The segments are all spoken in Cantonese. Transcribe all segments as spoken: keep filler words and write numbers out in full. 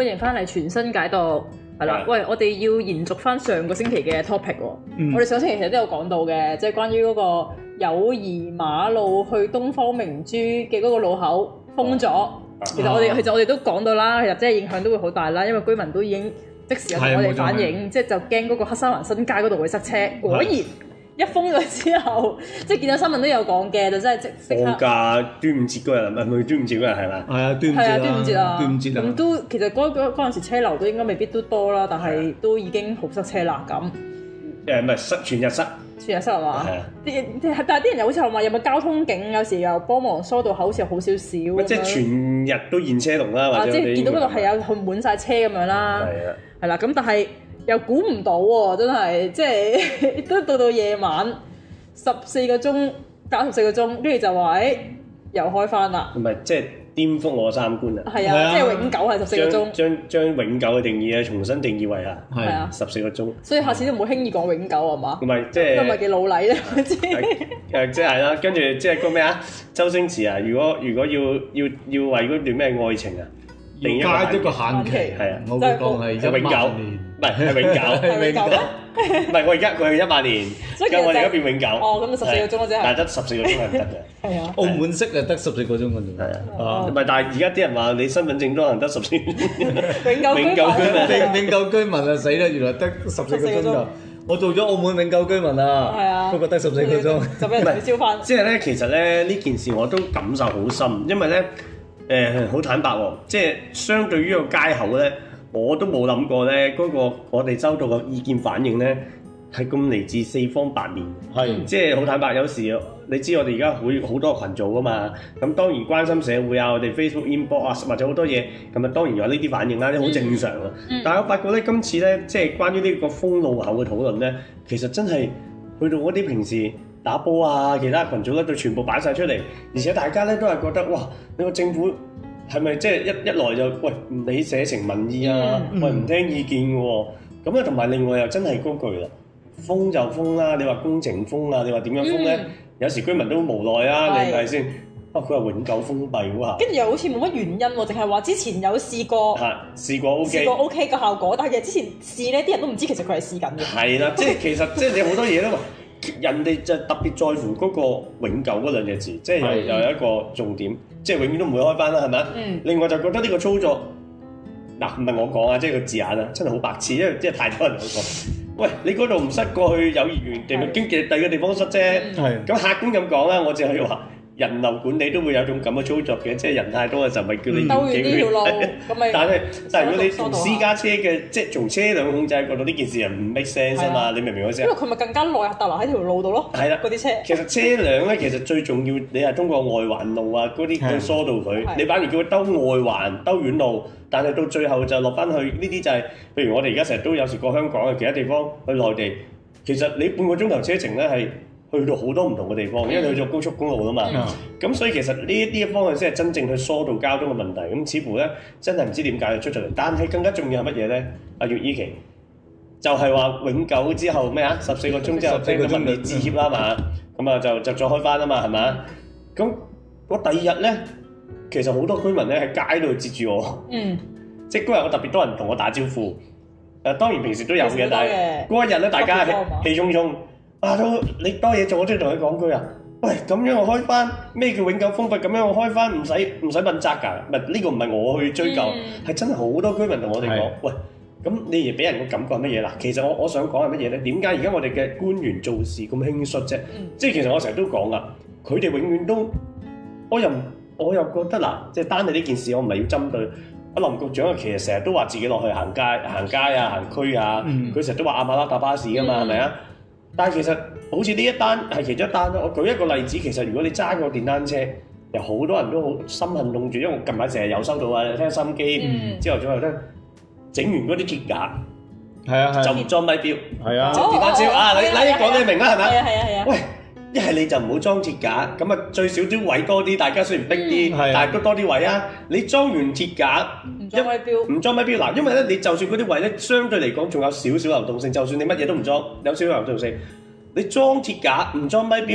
歡迎翻嚟全新解讀，係啦。喂，我哋要延續翻上個星期嘅 topic 喎。嗯、我哋上星期其實都有講到嘅，即係關於嗰個友誼馬路去東方明珠嘅嗰個路口封咗。啊、其實我哋、啊、其實我哋都講到啦，其實即係影響都會好大啦，因為居民都已經即時有同我哋反映，即係就驚嗰個黑沙環新街嗰度會塞車。果然。一封咗之後，即係見到新聞都有講嘅，就真係即即刻放假端午節嗰日，唔係唔係端午節嗰日係咪？係啊，端午節啊， 端午節啊， 端午節啊。咁都其實嗰嗰嗰陣時車流都應該未必都多啦，但係都已經好塞車啦咁。 誒唔係塞全日塞， 全日塞係嘛？係啊。啲但係啲人又好似話有冇交通警，有時又幫忙疏導口，好似又好少少。即係全日都現車龍啦，或者即係見到嗰度係有去滿晒車咁樣啦。係啊。係啦，咁但係又估唔到喎，真係即係都到到夜晚。十四個鐘，隔十四個鐘，跟住就話誒、欸，又開翻啦。唔係， 即係顛覆我三觀啊！ 係啊，即係永久係十四個鐘。將將永久嘅定義啊，重新定義為啊，係啊，十四個鐘。 所以下次都唔好輕易講永久係嘛？ 唔係，即係都唔係幾老禮咧，我知。 誒，即係啦，跟住即係個咩啊？周星馳啊，如果如果要要要為嗰段咩愛情啊，定加一個限期， 係啊， 我會講係永久，唔係係永久， 係永久。 唔係我而家佢係一萬年，而家我哋而家變永久。 哦，咁就十四個鐘咯，即係。 但係得十四個鐘係唔得嘅。 係啊。 澳門式就得十四個鐘嘅啫。係啊。唔係，但係而家啲人話你身份證都可能得十四個鐘。 永久永久居民，永久居民啊死啦！原來得十四個鐘就，我做咗澳門永久居民啊。係啊。不過得十四個鐘。 就俾人取消翻。 即係咧，其實咧呢件事我都感受好深，因為咧誒好坦白喎，即係相對於個街口咧。我都冇諗過咧，嗰個我哋收到嘅意見反應咧，係咁嚟自四方八面，係是即係好坦白。有時你知我哋而家會好多群組噶嘛，咁當然關心社會啊，我哋 Facebook inbox 啊，或者好多嘢，咁啊當然有呢啲反應啦，啲好正常啊。嗯、但係我發覺咧，今次咧，即係關於呢個封路口嘅討論咧，其實真係去到嗰啲平時打波啊，其他群組咧，都全部擺晒出嚟，而且大家咧都係覺得哇，你個政府。係咪即係一一來就喂唔理社情民意啊，嗯嗯、喂唔聽意見嘅喎，咁啊同埋另外又真係嗰句啦，封就封啦，你話工程封啊，你話點樣封咧？嗯、有時居民都無奈啊，是你睇先，啊佢話永久封閉喎， 跟住又好似冇乜原因喎，淨係話之前有試過， 係試過 OK， 試過 OK 嘅效果，但係其實之前試咧，啲人都唔知其實佢係試緊嘅。係啦，即係其實即係你好多嘢都話。人哋就特別在乎嗰個永久嗰兩隻字，即係又又有一個重點，即係永遠都唔會開翻啦，係咪啊？嗯。另外就覺得呢個操作，嗱唔係我講啊，即係個字眼啊，真係好白痴，因為即係太多人講過。喂，你嗰度唔塞過去友誼園，定係經濟第二個地方塞啫？係。咁客觀咁講啦，我淨係話。人流管理都會有種咁嘅操作嘅，即係人太多嘅時候咪叫你繞幾圈。但係但係如果你同私家車嘅，即係從車輛控制角度呢件事係唔 make sense 啊嘛？你明唔明我意思？ 因為佢咪更加耐逗留喺條路度咯。係啦，嗰啲車。 其實車輛咧，其實最重要，你係通過外環路啊嗰啲去疏導佢。你反而叫佢兜外環、兜遠路，但係到最後就落翻去呢啲就係，譬如我哋而家成日都有時過香港嘅其他地方去內地，其實你半個鐘頭車程咧係。去到好多唔同嘅地方，因為你去咗高速公路啦嘛，咁、嗯、所以其實呢一啲嘅方向先係真正去疏導交通嘅問題。咁似乎咧真係唔知點解就出咗嚟，但係更加重要係乜嘢咧？阿月依琪就係、是、話永久之後咩啊？十四個鐘之後即係咁你致歉啦嘛，咁啊就就再開翻啊嘛，係咪？咁我第二日咧，其實好多居民咧喺街度截住我，嗯，即係嗰日我特別多人同我打招呼。誒當然平時都有嘅，但係嗰一日咧大家氣沖沖。啊都你多嘢做，我都要同佢講句啊！喂，咁樣我開翻咩叫永久封閉？咁樣我開翻唔使唔使問責㗎？唔係呢個唔係我去追究，係、嗯、真係好多居民同我哋講，的喂，咁你而俾人嘅感覺係乜嘢啦？其實我我想講係乜嘢咧？點解而家我哋嘅官員做事咁輕率啫？嗯、即係其實我成日都講㗎，佢哋永遠都，我又我又覺得嗱，即係單係呢件事，我唔係要針對阿林局長啊。其實成日都話自己落去行街、行街啊、行區啊，佢成日都話亞馬拉搭巴士㗎嘛，係咪啊？但係其實好似呢一單係其中一單咯。我舉一個例子，其實如果你揸個電單車，有好多人都好心痕凍住，因為我近排成日有收到啊，聽收音機，朝頭早又聽整完嗰啲鐵架，係啊，就唔裝咪錶，係啊，整電單車啊，你你講你明啦，係咪？係啊係啊係啊。喂，一係你就唔好裝鐵架，咁啊最少啲位多啲，大家雖然逼啲，但係都多啲位啊。你裝完鐵架， 唔裝咪錶， 唔裝咪錶嗱，因為咧你就算嗰啲位咧，相對嚟講仲有少少流動性，就算你乜嘢都唔裝，有少少流動性。你裝鐵架唔裝咪錶，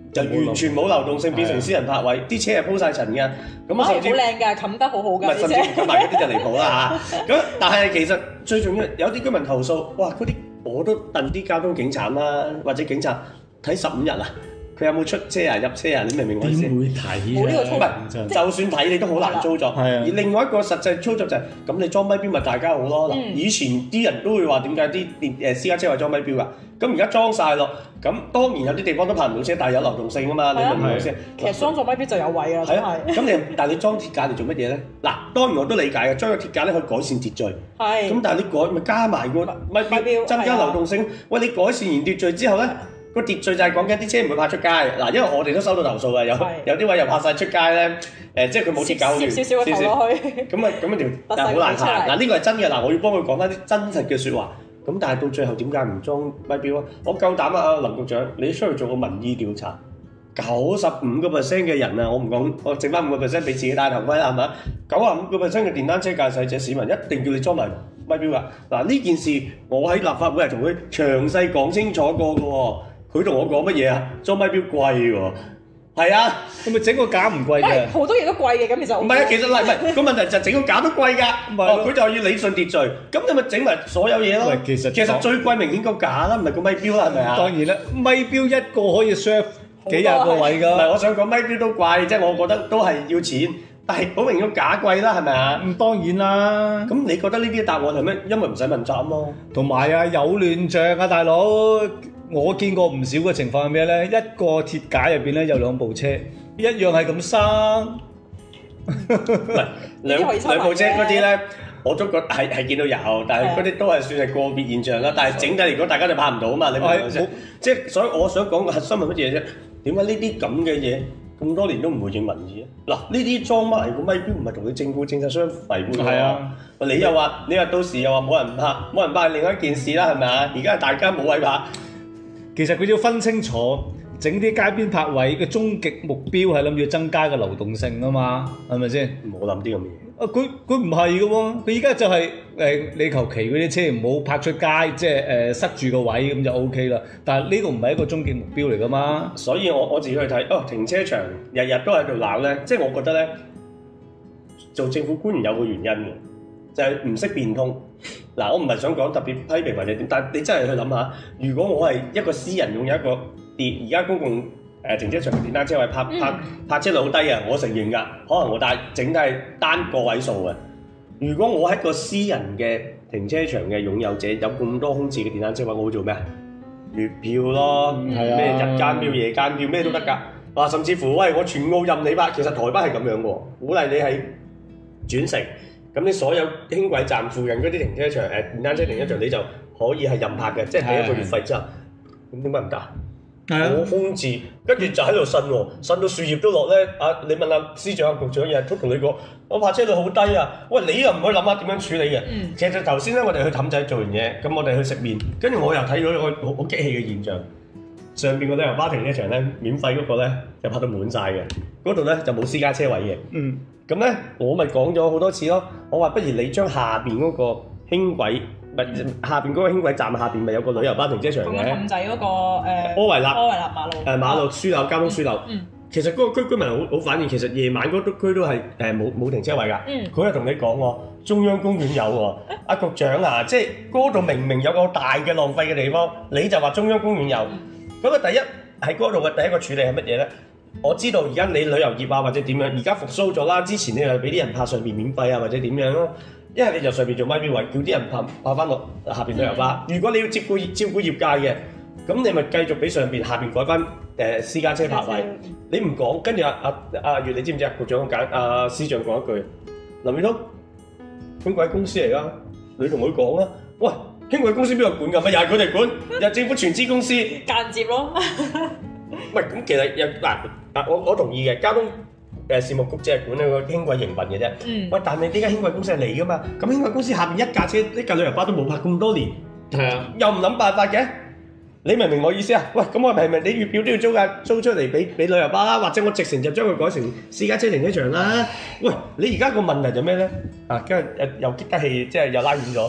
就完全冇流動性，變成私人泊位，啲車係鋪曬塵㗎。咁啊，甚至好靚㗎，冚得好好㗎。 甚至冚埋嗰啲就離譜啦嚇。咁但係其實最重要有啲居民投訴，哇！嗰啲我都戥啲交通警察啦，或者警察睇十五日啊。佢有冇出車啊、入車啊？你明唔明我意思？ 點會睇啊？ 冇呢個操作， 唔係就算睇你都好難操作。係啊。而另外一個實際操作就係咁，你裝咪標咪大家好咯。嗱，以前啲人都會話點解啲電誒私家車話裝咪標㗎？咁而家裝曬咯。咁當然有啲地方都泊唔到車，但係有流動性啊嘛。你明唔明我意思？ 其實裝咗咪標就有位啊。係啊。 咁你但係你裝鐵架嚟做乜嘢咧？嗱，當然我都理解嘅，裝個鐵架咧可以改善秩序。係。咁但係你改咪加埋個咪標，增加流動性。喂，你改善完秩序之後咧？個秩序就係講緊啲車唔會泊出街，嗱，因為我哋都收到投訴嘅，有有啲位又泊曬出街咧，誒，即係佢冇鐵架好亂， 少少個頭落去， 咁啊咁啊條，但係好難行。嗱，呢個係真嘅，嗱，我要幫佢講翻啲真實嘅説話。咁但係到最後點解唔裝咪標啊？我夠膽啊，林局長，你出去做個民意調查，九十五個 percent 嘅人啊，我唔講，我剩翻五個 percent 俾自己戴頭盔啦，係咪？九十五個 percent 嘅電單車駕駛者市民一定叫你裝埋咪標㗎。嗱，呢件事我喺立法會係同佢詳細講清楚過嘅喎。佢同我講乜嘢啊？裝咪標貴喎，係啊， 咁咪整個架唔貴嘅？ 好多嘢都貴嘅，咁其實唔係啊， 其實嗱，唔係個問題就係整個架都貴㗎。哦，佢就要理順秩序，咁你咪整埋所有嘢咯。其實其實最貴明顯個架啦，唔係個咪標啦，係咪啊？ 當然啦，咪標一個可以 serve 幾廿個位㗎。 唔係，我想講咪標都貴，即係我覺得都係要錢，但係好明顯個架貴啦，係咪啊？ 咁當然啦。咁你覺得呢啲答案係咩？因為唔使問責咯。 同埋啊，有亂象啊，大佬。我見過唔少嘅情況係咩咧？一個鐵架入邊咧有兩部車，一樣係咁生。 唔係兩兩部車嗰啲咧，我都覺係係見到有，但係嗰啲都係算係個別現象啦。但係整體嚟講，大家就拍唔到啊嘛。你明唔明先？即係所以我想講個核心係乜嘢啫？點解呢啲咁嘅嘢咁多年都唔回應民意啊？嗱，呢啲裝乜嚟個咪標唔係同你政府政策相違背㗎。係啊，你又話你話到時又話冇人拍，冇人拍係另外一件事啦，係咪啊？而家大家冇位拍。 其實佢要分清楚，整啲街邊泊位嘅終極目標係諗住增加個流動性啊嘛，係咪先？ 冇諗啲咁嘅嘢。 啊，佢佢唔係嘅喎，佢而家就係、是、誒、呃、你求其嗰啲車唔好泊出街，即係誒、呃、塞住個位咁就 O K 啦。但係呢個唔係一個終極目標嚟㗎嘛。 所以我我自己去睇，哦，停車場日日都喺度鬧咧，即係我覺得咧，做政府官員有個原因嘅。就係唔識變通，嗱，我唔係想講特別批評或者點，但係你真係去諗下，如果我係一個私人擁有一個電而家公共誒停車場嘅電單車位，泊泊泊車率好低啊，我承認㗎，可能我但係整體係單個位數嘅。如果我係一個私人嘅停車場嘅擁有者，有咁多空置嘅電單車位，我會做咩啊？月票咯，咩、嗯、日間票、夜間票咩都得㗎。啊，甚至乎喂，我全澳任你泊，其實台北係咁樣喎，鼓勵你係轉乘。咁你所有輕軌站附近嗰啲停車場，誒電單車停車場，你就可以係任泊嘅，即係俾一個月費之後，咁點解唔得？我空置，跟住就喺度呻喎，呻到樹葉都落咧。啊，你問下司長、局長，日日都同你講，我泊車率好低啊。喂，你又唔去諗下點樣處理嘅？嗯、其實頭先咧，我哋去氹仔做完嘢，咁我哋去食麵，跟住我又睇到一個好好激氣嘅現象，上邊個旅遊巴停車場咧，免費嗰個咧就泊到滿晒嘅，嗰度咧就冇私家車位嘅。嗯。咁咧，我咪講咗好多次咯。我話不如你將下邊嗰個輕軌，咪、嗯、下邊嗰個輕軌站下邊咪有個旅遊巴停車場嘅。氹仔嗰個誒。柯維納。柯維納馬路。誒、呃、馬路樞紐交通樞紐。嗯。其實嗰個區居民好好反映，其實夜晚嗰度區都係誒冇冇停車位㗎。嗯。佢係同你講喎，中央公園有喎。阿、啊、局長啊，即係嗰度明明有個大嘅浪費嘅地方，你就話中央公園有。咁啊、嗯，第一喺嗰度嘅第一個處理係乜嘢咧？我知道而家你旅遊業啊或者點樣，而家復甦咗啦。之前你又俾啲人泊上邊免費啊或者點樣咯，一係你就上邊做咪標位，叫啲人泊泊翻落下邊旅遊巴。嗯、如果你要照顧照顧業界嘅，咁你咪繼續俾上邊下邊改翻誒私家車泊位。嗯、你唔講，跟住阿阿阿月，你知唔知啊？局長講阿司長講一句，林宇滔輕軌公司嚟㗎，你同佢講啦。喂，輕軌公司邊個管㗎？咪又係佢哋管，又政府全資公司間接咯。 喂，咁其實又嗱嗱，我我同意嘅，交通誒事務局只係管呢個輕軌營運嘅啫。嗯。喂，但係呢間輕軌公司係你噶嘛？咁輕軌公司下邊一架車，一架旅遊巴都冇泊咁多年。係啊。又唔諗辦法嘅？你明唔明我意思啊？喂，咁我係咪你月票都要租架租出嚟俾俾旅遊巴啦？或者我直程就將佢改成私家車停車場啦？喂，你而家個問題就咩咧？啊，跟住又激得氣，即係又拉遠咗。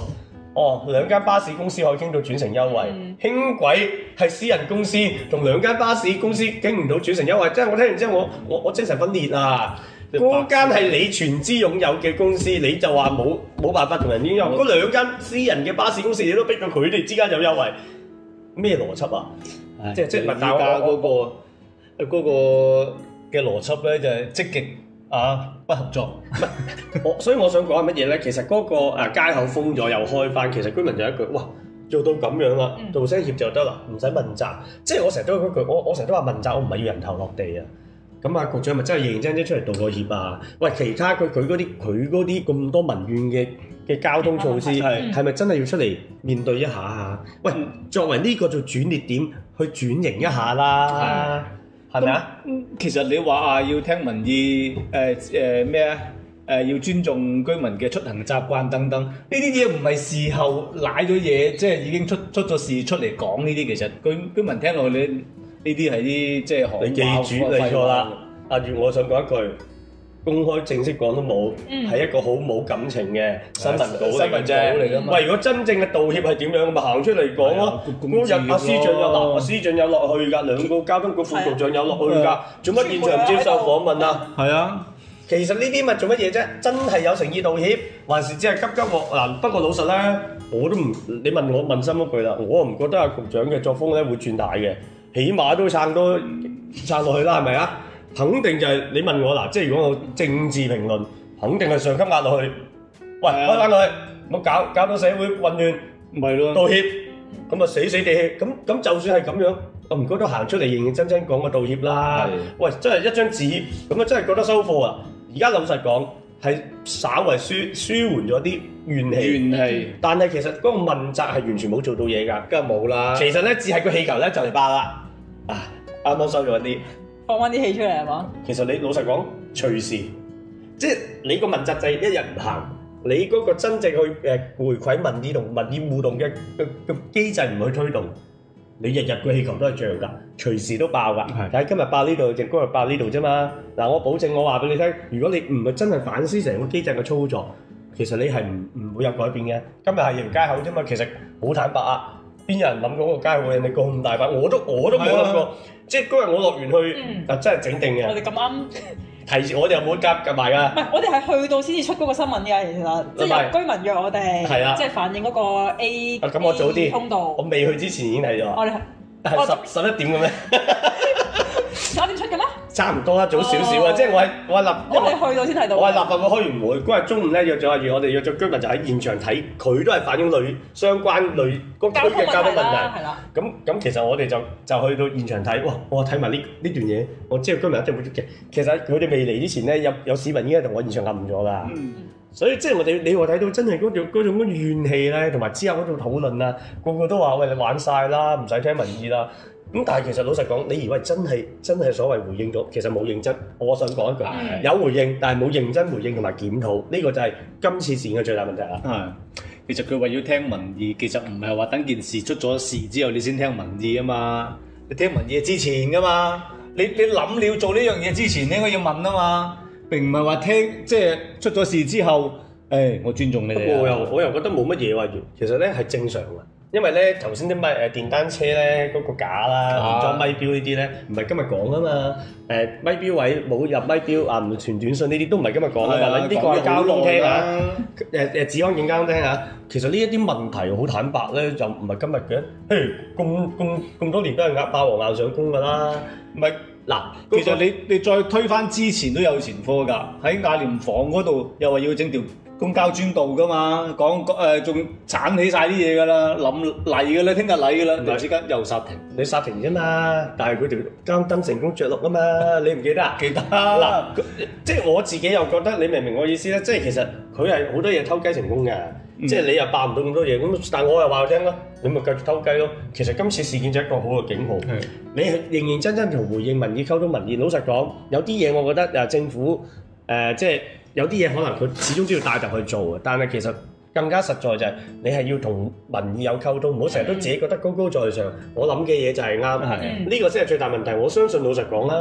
哦，兩間巴士公司可以傾到轉乘優惠，嗯、輕軌係私人公司，同兩間巴士公司傾唔到轉乘優惠，即係我聽完之後，我我我精神分裂啊！嗰間係你全資擁有嘅公司，你就話冇冇辦法同人擁有，嗰兩間私人嘅巴士公司，你都逼到佢哋之間有優惠，咩邏輯啊？唉即係即係大家嗰個嗰個嘅邏輯咧，就係積極啊不合作。我所以我想講係乜嘢咧？其實嗰個誒街口封咗又開翻，其實居民就一句哇做到咁樣啦，道聲協就得啦，唔使問責。即係我成日都嗰句，我我成日都話問責，我唔係要人頭落地啊。咁啊，局長咪真係認認真真出嚟道個歉啊？喂，其他佢佢嗰啲佢嗰啲咁多民怨嘅嘅交通措施，係係咪真係要出嚟面對一下啊？喂，作為呢個做轉捩點去轉型一下啦，係咪啊？ 其實你話啊，要聽民意，誒誒咩啊？誒、呃、要尊重居民嘅出行習慣等等，呢啲嘢唔係事後賴咗嘢，即係已經出出咗事出嚟講呢啲，其實居居民聽落你。呢啲係啲即係行話， 你記住你錯啦。阿月，我想講一句，公開正式講都冇，係、嗯、一個好冇感情嘅新聞稿嚟啫。喂，如果真正嘅道歉係點樣，咪行出嚟講咯。嗰日阿司長有落，阿司長有落去㗎，兩個交通局副局長有落去㗎，做乜現場唔接受訪問啊？係啊，其實呢啲咪做乜嘢啫？真係有誠意道歉，還是只係急急鑊嗱？不過老實咧，我都唔，你問我問心一句啦，我唔覺得阿局長嘅作風咧會轉大嘅。起碼都撐多撐落去啦，係咪啊？肯定就係、是、你問我嗱，即係如果我政治評論，肯定係上級壓落去。喂，開翻落去，唔好搞搞到社會混亂，唔係咯？道歉，咁啊死死地氣，咁咁就算係咁樣，我唔覺得行出嚟認認真真講個道歉啦。的喂，真係一張紙，咁啊真係覺得收貨啊！而家老實講，係稍為舒舒緩咗啲怨氣，怨氣。但係其實嗰個問責係完全冇做到嘢㗎，梗係冇啦。其實咧，只係個氣球咧就嚟爆啦。啊，啱啱收咗一啲， 放翻啲氣出嚟係嘛？ 其實你老實講，隨時，即係你個問責制一日唔行，你嗰個真正去誒回饋民意同民意互動嘅嘅嘅機制唔去推動，你日日個氣球都係漲㗎，隨時都爆㗎。係，但係今日爆呢度，就今日爆呢度啫嘛。嗱，我保證我話俾你聽，如果你唔係真係反思成個機制嘅操作，其實你係唔唔會有改變嘅。今日係營街口啫嘛，其實好坦白啊。邊有人諗過嗰個街會人哋咁大把？我都我都冇諗過，即係嗰日我落完去，啊真係整定嘅。 我哋咁啱提示我哋有冇夾夾埋㗎？ 唔係，我哋係去到先至出嗰個新聞㗎，其實即係有居民約我哋，即係反映嗰個 A 咁我早啲通道。 我未去之前已經睇咗。我哋係十十一點嘅咩？ 十一點出嘅咩？ 差唔多啦，早少少啊！即係我係我係立， 我哋去到先睇到。 我係立法會開完會嗰日中午咧約咗阿月，我哋約咗居民就喺現場睇，佢都係反映類相關類嗰區嘅交通問題。係啦。咁咁其實我哋就就去到現場睇，哇！我睇埋呢呢段嘢，我知道居民一定會激。其實佢哋未嚟之前咧，有有市民已經同我現場暗咗㗎。嗯。所以即係我哋你話睇到真係嗰種嗰種怨氣咧，同埋之後嗰種討論啊，個個都話喂，你玩晒啦，唔使聽民意啦。咁但係其實老實講，你以為真係真係所謂回應咗，其實冇認真。我想講一句，的有回應，但係冇認真回應同埋檢討，呢、這個就係今次事件嘅最大問題啦。 係，其實佢話要聽民意，其實唔係話等件事出咗事之後你先聽民意啊嘛，你聽民意之前噶嘛，你你諗你要做呢樣嘢之前，你應該要問啊嘛，並唔係話聽即係出咗事之後，誒、哎、我尊重你哋。 不過我又我又覺得冇乜嘢喎，其實咧係正常嘅。因為咧頭先啲咪誒電單車咧嗰個架啦，連裝咪錶呢啲咧，唔係今日講啊嘛。誒咪錶位冇入咪錶啊，唔傳短信呢啲都唔係今日講啊嘛。呢個係交通廳啊，誒誒治安警交通廳啊。其實呢一啲問題好坦白咧，就唔係今日嘅。譬如咁咁咁多年都係壓霸王硬上弓㗎啦。唔係嗱， 其實你你再推返之前都有前科㗎，喺雅廉訪嗰度又話要整條公交專道噶嘛，講誒仲鏟起晒啲嘢噶啦，諗嚟嘅啦，聽日嚟嘅啦，突然之間又煞停， 你煞停啫嘛，但係佢條交燈成功着陸啊嘛，你唔記得啊？ 記得嗱，即係我自己又覺得你明唔明我意思咧？即係其實佢係好多嘢偷雞成功嘅，嗯、即係你又爆唔到咁多嘢，咁但係我又話佢聽咯，你咪繼續偷雞咯。其實今次事件就係一個好嘅警號，是你係認認真真同回應民意、溝通民意。老實講，有啲嘢我覺得誒政府誒、呃、即係。有啲嘢可能佢始終都要帶頭去做嘅，但係其實更加實在就係你係要同民意有溝通，唔好成日都自己覺得高高在上。我諗嘅嘢就係啱，呢個先係最大問題。我相信老實講啦，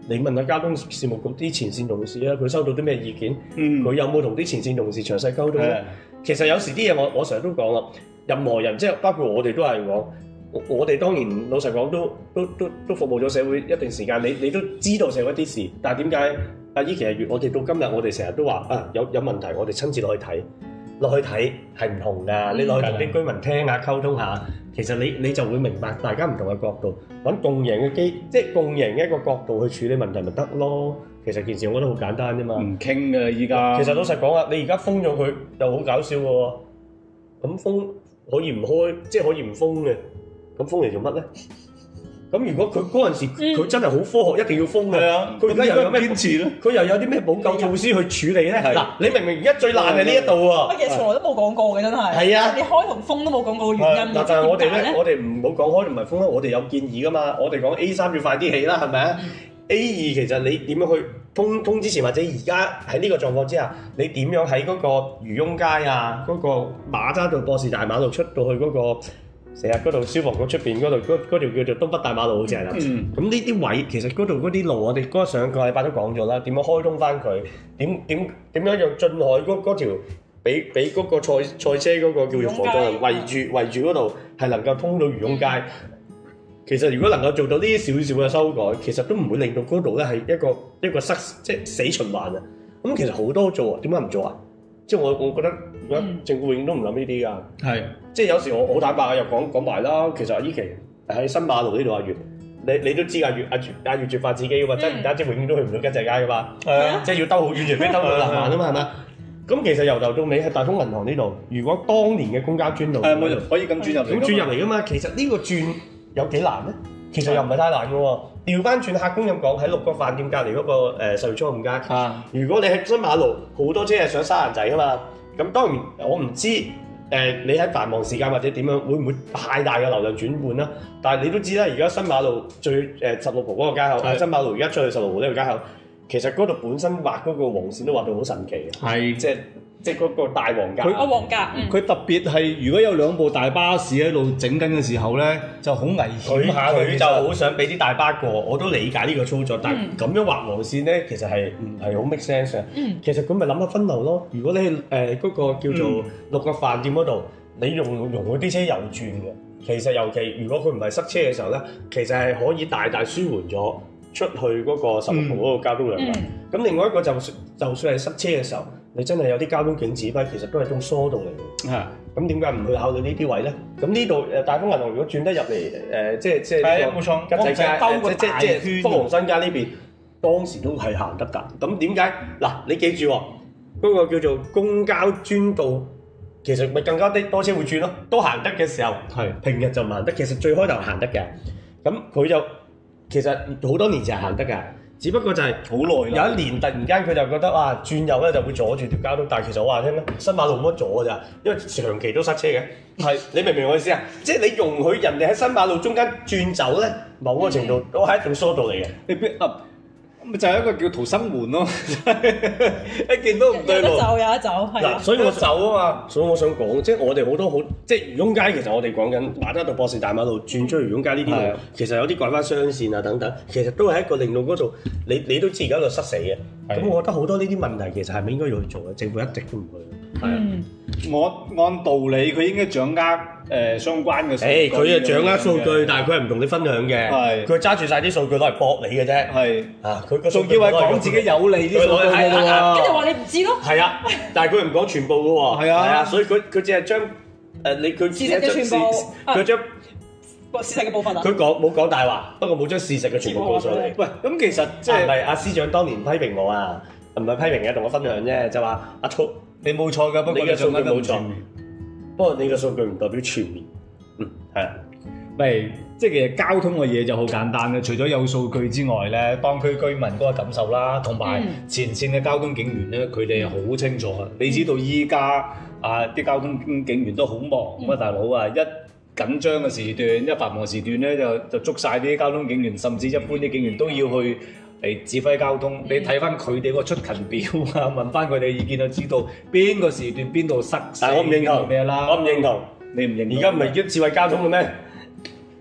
你問下交通事務局啲前線同事啊，佢收到啲咩意見？佢、嗯、有冇同啲前線同事詳細溝通咧？其實有時啲嘢我我成日都講啦，任何人即係包括我哋都係講，我哋當然老實講都都都都服務咗社會一段時間，你你都知道社會啲事，但係點解阿姨其實我哋到今日我哋成日都話啊有有問題，我哋親自落去睇。落去睇係唔同㗎，嗯、你落去同啲居民聽下溝通下，其實你你就會明白大家唔同嘅角度，揾共贏嘅機，即係共贏嘅一個角度去處理問題咪得咯。其實件事我覺得好簡單啫嘛。唔傾㗎依家。其實老實講啊，你而家封咗佢又好搞笑喎。咁封可以唔開，即係可以唔封嘅。咁封嚟做乜咧？咁如果佢嗰陣時佢真係好科學，一定要封嘅。佢而家又有咩堅持咧？佢又有啲咩補救措施去處理咧？嗱，你明明而家最爛係呢一度喎。乜嘢從來都冇講過嘅，真係。係啊，你開同封都冇講過嘅原因。嗱，但係我哋咧，我哋唔好講開同埋封啦，我哋有建議噶嘛。我哋講 A 三要快啲起啦，係咪啊？A 二其實你點樣去通通之前或者而家喺呢個狀況之下，你點樣喺嗰個漁翁街啊，嗰個馬揸道博士大馬路出到去嗰個？成日嗰度消防局出邊嗰度嗰條叫做東北大馬路好似係啦，咁呢啲位其實嗰度嗰啲路我哋嗰上個禮拜都講咗啦，點樣開通翻佢？點點點樣讓進海嗰嗰條俾俾嗰個賽賽車嗰個叫做防撞人圍住圍住嗰度係能夠通到漁翁街？嗯、其實如果能夠做到呢啲少少嘅修改，其實都唔會令到嗰度咧係一個一個塞即係死循環啊！咁其實好多做啊，點解唔做啊？即係我我覺得而家政府永遠都唔諗呢啲㗎，係、嗯、即係有時我好坦白啊，又講講埋啦。其實阿依期喺新馬路呢度阿月，你你都知阿月阿月阿月絕發自己㗎嘛，真唔單止永遠都去唔到吉濟街㗎嘛，係啊，即係要兜好遠，除非兜到南環啊嘛，係咪？咁其實由頭到尾喺大豐銀行呢度，如果當年嘅公交專道，係咪可以咁轉入？咁轉入嚟㗎嘛？其實呢個轉有幾難咧？其實又唔係太難嘅喎。調翻轉客觀咁講，喺六個飯店隔離嗰個誒十月初五街，啊、如果你喺新馬路好多車係上沙蘭仔㗎嘛，咁當然我唔知誒、呃、你喺繁忙時間或者點樣會唔會太大嘅流量轉換啦？但係你都知啦，而家新馬路最誒十六號嗰個街口，是新馬路而家出去十六號呢個街口，其實嗰度本身畫嗰個黃線都畫到好神奇嘅，係是即係。即係嗰個大黃格，佢啊黃格，佢、嗯、特別係如果有兩部大巴士喺度整緊嘅時候咧，就好危險下。佢就好想俾啲大巴過，我都理解呢個操作，但係咁樣畫黃線咧，其實係唔係好 make sense 嘅。嗯、其實佢咪諗下分流咯。如果你誒嗰個叫做六個飯店嗰度，你用容許啲車右轉嘅，其實尤其如果佢唔係塞車嘅時候咧，其實係可以大大舒緩咗出去嗰個十六號嗰個交通量嘅。咁、嗯、另外一個就算就算係塞車嘅時候。你真係有啲交通警指揮，其實都係種疏導嚟嘅。係，咁點解唔去考慮呢啲位咧？咁呢度誒大豐銀行如果轉得入嚟誒，即係即係呢個吉濟街，即係即係福隆新街呢邊，當時都係行得㗎。咁點解？嗱，你記住喎，嗰個叫做公交專道，其實咪更加啲多車會轉咯，都行得嘅時候，係平日就唔行得。其實最開頭行得嘅，咁佢就其實好多年前係行得㗎。只不過就係好耐啦，有一年突然間佢就覺得哇轉右咧就會阻住條交通，但係其實我話聽咧，新馬路冇乜阻㗎咋，因為長期都塞車嘅。係，你明唔明我意思啊？即係你容許人哋喺新馬路中間轉走咧，某個程度都係一種疏導嚟嘅。你邊啊？咪就係一個叫逃生門咯，一見到唔對路，有得走有得走，係嗱，所以我走啊嘛，所以我想講，即係我哋好多好，即係漁翁街其實我哋講緊馬德道博士大馬路轉出去漁翁街呢啲路，的其實有啲改翻雙線啊等等，其實都係一個令到嗰度，你你都知而家度塞死嘅，咁的我覺得好多呢啲問題其實係咪應該要去做嘅？政府一直都唔去，係啊、嗯，我按道理佢應該掌握。誒、呃、相關嘅數據，佢係掌握數據，但係佢係唔同你分享嘅。係，佢揸住晒啲數據攞嚟駁你嘅啫。係，啊，佢個仲要係講自己有利啲數據嘅喎。跟住話你唔知咯。係啊，但係佢唔講全部嘅喎。係啊，係啊，所以佢佢只係將誒你佢事實嘅全部，佢將事實嘅部分啊。佢講冇講大話，不過冇將事實嘅全部講上嚟。喂，咁其實即係唔係阿司長當年批評我啊？唔係批評嘅，同我分享啫，就話阿聰你冇錯㗎，不過你嘅數據冇錯。不過你嘅數據唔代表全面，嗯，係啊，咪即係其實交通嘅嘢就好簡單嘅，除咗有數據之外咧，當區居民嗰個感受啦，同埋前線嘅交通警員咧，佢哋好清楚啊！嗯、你知道依家啊啲交通警員都好忙咁啊，大佬啊，一緊張嘅時段，一繁忙時段咧就就捉晒啲交通警員，甚至一般啲警員都要去嚟指揮交通。嗯、你睇翻佢哋個出勤表啊，問翻佢哋意見就知道邊個時段邊度塞。但係我唔認同咩啦，我唔認同，你唔認同？而家唔係叫智慧交通嘅咩？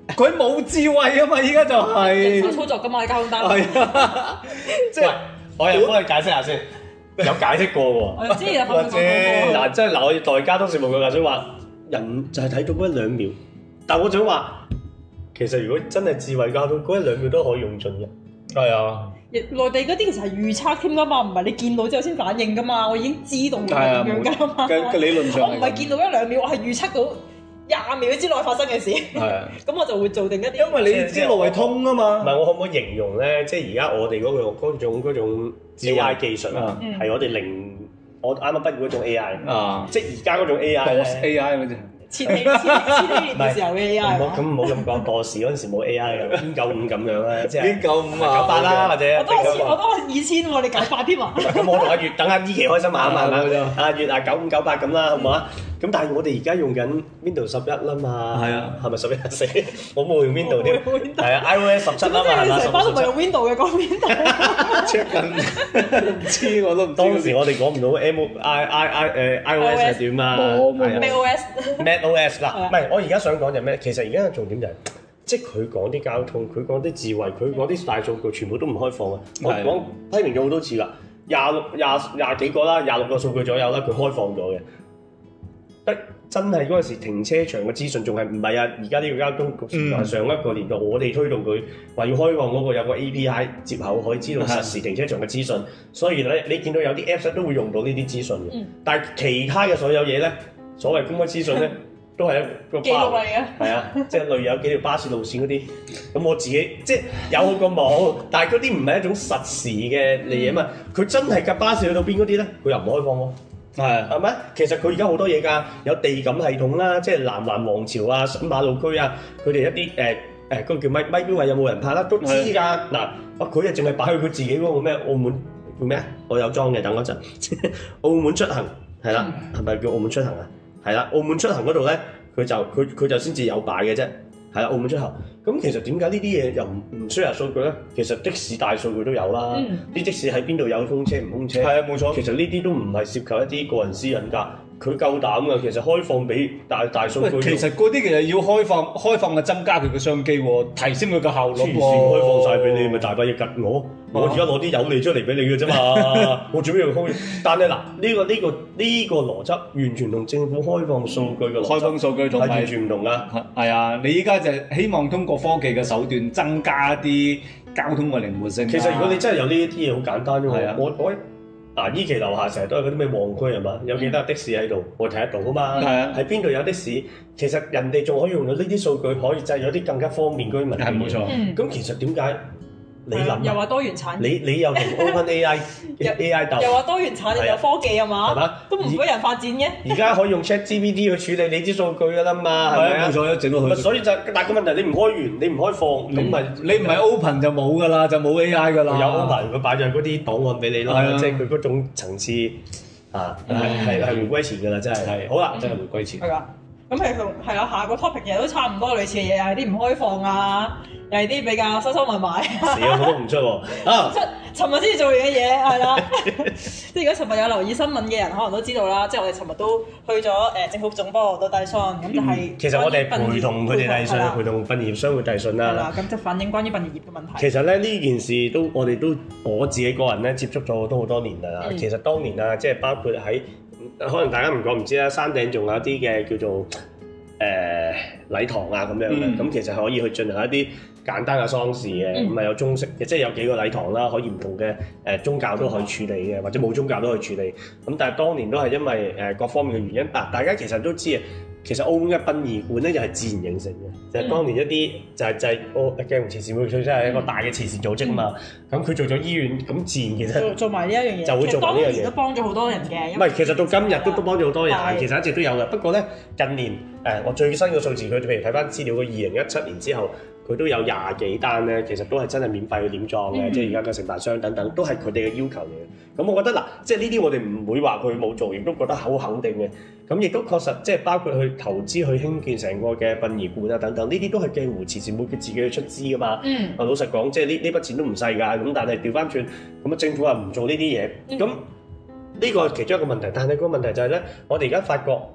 佢冇智慧啊嘛，依家就係手操作㗎嘛，交通單。 係啊，即係我又幫你解釋下先，有解釋過喎。 我知有或者嗱，即係嗱，我要代交通事務局想話人就係睇到嗰一兩秒，但我想話其實如果真係智慧交通，嗰一兩秒都可以用盡嘅。 係啊。 內地嗰啲其實係預測添㗎嘛，唔係你見到之後先反應㗎嘛，我已經知道係點樣㗎嘛。 嘅理論上， 我唔係見到一兩秒，我係預測到廿秒之內發生嘅事。係啊，咁我就會做定一啲。 因為你知路係通啊嘛。 唔係，我可唔可以形容咧？即係而家我哋嗰個嗰種嗰種 A I 技術啊，係我哋零我啱啱畢業嗰種 A I 啊，即係而家嗰種 A I 咧 A I 嗰隻。 千禧千禧年嘅時候嘅 A I 唔好咁唔好咁講，博士嗰陣時冇 A I 嘅，邊九五咁樣咧，即係邊九五啊， 九八啦，或者我都係我都係二千喎，你九八添啊？ 咁我同阿月等阿依琪開心下啊嘛，阿月啊九五九八咁啦，好唔好啊？咁但係我哋而家用緊 Windows 十一啦嘛，係啊，係咪十一四？我冇用 Windows 添，係啊 iOS 十七啦嘛，係嘛？ 成班都唔係用 Windows 嘅，講 Windows。 check 緊，唔知我都唔知。 當時我哋講唔到 M I I I 誒 iOS 係點啊？ 冇冇。 Mac O S。Mac O S 嗱，唔係我而家想講就咩？其實而家嘅重點就係，即係佢講啲交通，佢講啲智慧，佢講啲大數據，全部都唔開放啊！我講批評咗好多次啦，廿六廿廿幾個啦，廿六個數據左右啦，佢開放咗嘅。得真係嗰陣時停車場嘅資訊仲係唔係啊？而家呢個交通局係上一個年代，我哋推動佢話要開放嗰個有個 A P I 接口，可以知道實時停車場嘅資訊。所以咧，你見到有啲 Apps 都會用到呢啲資訊嘅。嗯、但係其他嘅所有嘢咧，所謂公開資訊咧，都係一個記錄嚟嘅。 係啊，即係例如有幾條巴士路線嗰啲，咁我自己即係有好過冇，但係嗰啲唔係一種實時嘅嚟嘢嘛。佢、嗯、真係架巴士去到邊嗰啲咧，佢又唔開放喎。係係咪？其實佢而家好多嘢㗎，有地感系統啦，即係南環王朝啊、新馬路區啊，佢哋一啲誒誒嗰個叫咪咪標位有冇人拍啦，都知㗎。嗱，啊佢啊淨係擺去佢自己嗰個咩澳門叫咩啊？我有裝嘅，等嗰陣。澳門出行係啦，係咪叫澳門出行啊？係啦，澳門出行嗰度咧，佢就佢佢就先至有擺嘅啫。係啦，澳門出行。咁其實點解呢啲嘢又唔唔 share 數據咧？其實的士大數據都有啦，啲、嗯、的士喺邊度有空車唔空車？係啊，冇錯。其實呢啲都唔係涉及一啲個人私隱㗎，佢夠膽㗎。其實開放俾大大數據。 其實嗰啲其實要開放，開放嘅增加佢嘅商機喎，提升佢嘅效率喎。 開放晒俾你，咪大把嘢吉我。我而家攞啲有利出嚟俾你嘅啫嘛，我做咩要開？但係嗱，呢、這個呢、這個呢、這個邏輯完全同政府開放數據嘅開放數據係完全唔同㗎。 係啊，你依家就希望通過科技嘅手段增加啲交通嘅靈活性。 其實如果你真係有呢啲嘢，好簡單啫嘛。啊、我我嗱依期樓下成日都係嗰啲咩旺區係嘛，有幾多的士喺度，我睇得到㗎嘛。係啊，喺邊度有的士？其實人哋仲可以用到呢啲數據，可以製咗啲更加方便居民。係冇錯。咁、嗯、其實點解？你諗又話多元產業， 你你又同 OpenAI A I 鬥， 又話多元產業有科技啊嘛，係嘛？都唔俾人發展嘅。而家可以用 ChatGPT 去處理你啲數據㗎啦嘛，係咪啊？冇錯，整到佢。所以就但係個問題，你唔開源，你唔開放，咁咪你唔係 Open 就冇㗎啦，就冇 A I 㗎啦。有 Open 佢擺咗嗰啲檔案俾你咯，即係佢嗰種層次啊，係係係回歸前㗎啦，真係。好啦，真係回歸前。係㗎。 咁係同係啊，下個 topic 其實都差唔多類似嘅嘢，又係啲唔開放啊，又係啲比較收收埋埋。死啊！我都唔出喎。啊！出尋日先至做完嘅嘢係啦。即係如果尋日有留意新聞嘅人，可能都知道啦。即係我哋尋日都去咗誒政府總部度遞信，咁就係。其實我哋陪同佢哋遞信，陪同殯儀業商會遞信啦。係啦，咁就反映關於殯儀業嘅問題。其實咧呢件事都我哋都我自己個人咧接觸咗都好多年啦。嗯、其實當年啊，即係包括喺。可能大家唔覺唔知啦，山頂仲有啲嘅叫做誒、呃、禮堂啊咁樣嘅，咁、嗯、其實可以去進行一啲簡單嘅喪事嘅，咁啊、嗯、有中式嘅，即係有幾個禮堂啦，可以唔同嘅誒、呃、宗教都可以處理嘅，或者冇宗教都可以處理。咁但係當年都係因為誒、呃、各方面嘅原因，嗱大家其實都知啊。其實澳門嘅殯儀館咧，就係自然形成嘅，就係、是、當年一啲就係、是、就係澳鏡湖慈善會，佢真係一個大嘅慈善組織啊嘛。咁佢、嗯、做咗醫院，咁自然其實做做埋呢一樣嘢，就會做埋呢樣嘢。當年都幫咗好多人嘅。唔係，其實到今日都都幫咗好多人，的其實一直都有嘅。不過咧，近年誒、呃、我最新嘅數字，佢譬如睇翻資料，佢二零一七年之後。佢都有廿幾單咧，其實都係真係免費去殮葬嘅，嗯、即係而家嘅承辦商等等，都係佢哋嘅要求嚟嘅。咁我覺得嗱，即係呢啲我哋唔會話佢冇做，亦都覺得好肯定嘅。咁亦都確實，即係包括去投資去興建成個嘅殯儀館啊等等，呢啲都係鏡湖慈善會佢自己去出資㗎嘛。嗯。啊，老實講，即係呢呢筆錢都唔細㗎。咁但係調翻轉，咁啊政府話唔做呢啲嘢，咁呢、嗯、個係其中一個問題。但係個問題就係咧，我哋而家發覺。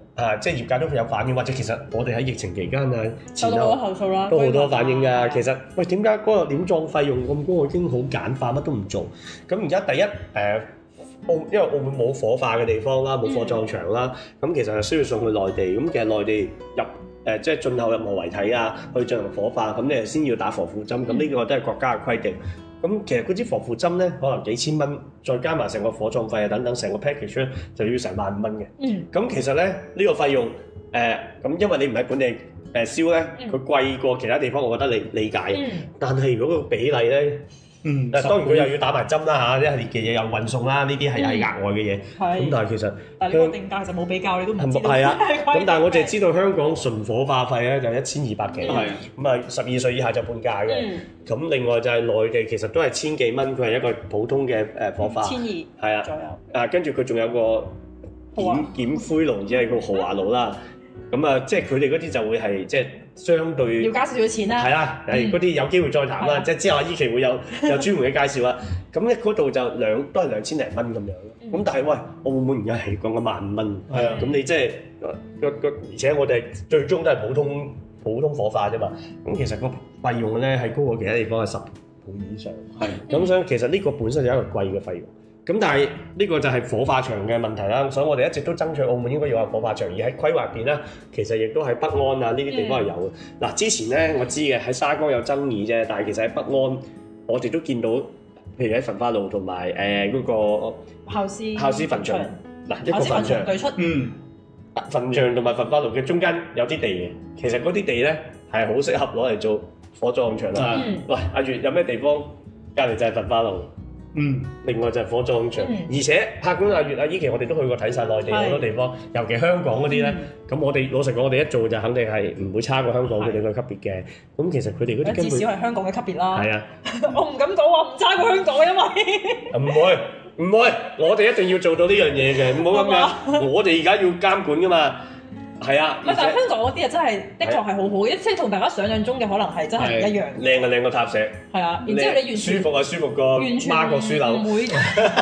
啊，即係業界都有反應，或者其實我哋喺疫情期間啊， 收到好多投訴啦， 都好多反應㗎。其實喂，點解嗰個殮葬費用咁高？我已經好簡化，乜都唔做。咁而家第一誒。呃澳因為澳門冇火化嘅地方啦，冇火葬場啦，咁、嗯、其實係需要送去內地。咁其實內地入誒、呃、即係進口任何遺體啊，去進行火化，咁你係先要打防腐針。咁呢、嗯、個都係國家嘅規定。咁其實嗰支防腐針咧，可能幾千蚊，再加埋成個火葬費啊等等，成個 package 咧就要成萬五蚊嘅。嗯。咁其實咧呢、呢個費用誒，咁、呃、因為你唔喺本地誒燒咧，佢、呃、貴過其他地方，我覺得你理解。嗯。但係如果個比例咧，嗯，誒當然佢又要打埋針啦嚇，一系列嘅嘢又運送啦，呢啲係係額外嘅嘢。係。咁但係其實， 但係呢個定價就冇比較，你都唔知道。 係啊。咁但係我淨係知道香港純火化費咧就一千二百幾。係。咁啊，十二歲以下就半價嘅。嗯。咁另外就係內地其實都係千幾蚊，佢係一個普通嘅誒火化。千二。係啊。左右。啊，跟住佢仲有個檢檢灰爐，即係個豪華爐啦。咁啊，即係佢哋嗰啲就會係即係相對要加少少錢啦。 係啦，係嗰啲有機會再談啦。即係之後阿依期會有有專門嘅介紹啦。咁咧嗰度就兩都係兩千零蚊咁樣咯。咁但係喂，澳門而家係講緊萬五蚊。係啊。咁你即係個個，而且我哋最終都係普通普通火化啫嘛。咁其實個費用咧係高過其他地方係十倍以上。係。咁所以其實呢個本身就係一個貴嘅費用。咁但係呢個就係火化場嘅問題啦，所以我哋一直都爭取澳門應該要有火化場，而喺規劃入邊咧，其實亦都喺北安啊呢啲地方係有嘅。嗱、嗯，之前咧我知嘅喺沙江有爭議啫，但係其實喺北安我哋都見到，譬如喺焚化爐同埋誒嗰個孝思孝思墳場，嗱一個墳場對出， 嗯，墳場同埋焚化爐嘅中間有啲地嘅，其實嗰啲地咧係好適合攞嚟做火葬場啦。嗯、喂，阿月有咩地方隔離就係焚化爐？嗯，另外就係火葬場，嗯、而且客觀阿月阿依期我哋都去過睇晒內地好多地方，是尤其香港嗰啲咧，咁、嗯、我哋老實講，我哋一做就肯定係唔會差過香港佢哋個級別嘅。咁是其實佢哋嗰啲根本至少係香港嘅級別啦。係啊， 我唔敢講話唔差過香港，因為唔會唔會，我哋一定要做到呢樣嘢嘅，唔好咁樣。我哋而家要監管噶嘛。係啊， 但係香港嗰啲啊真係的確係好好嘅，即係同大家想象中嘅可能係真係唔一樣。 靚啊靚過塔石。係啊，然之後你完全舒服啊舒服過孖國書樓。 唔會，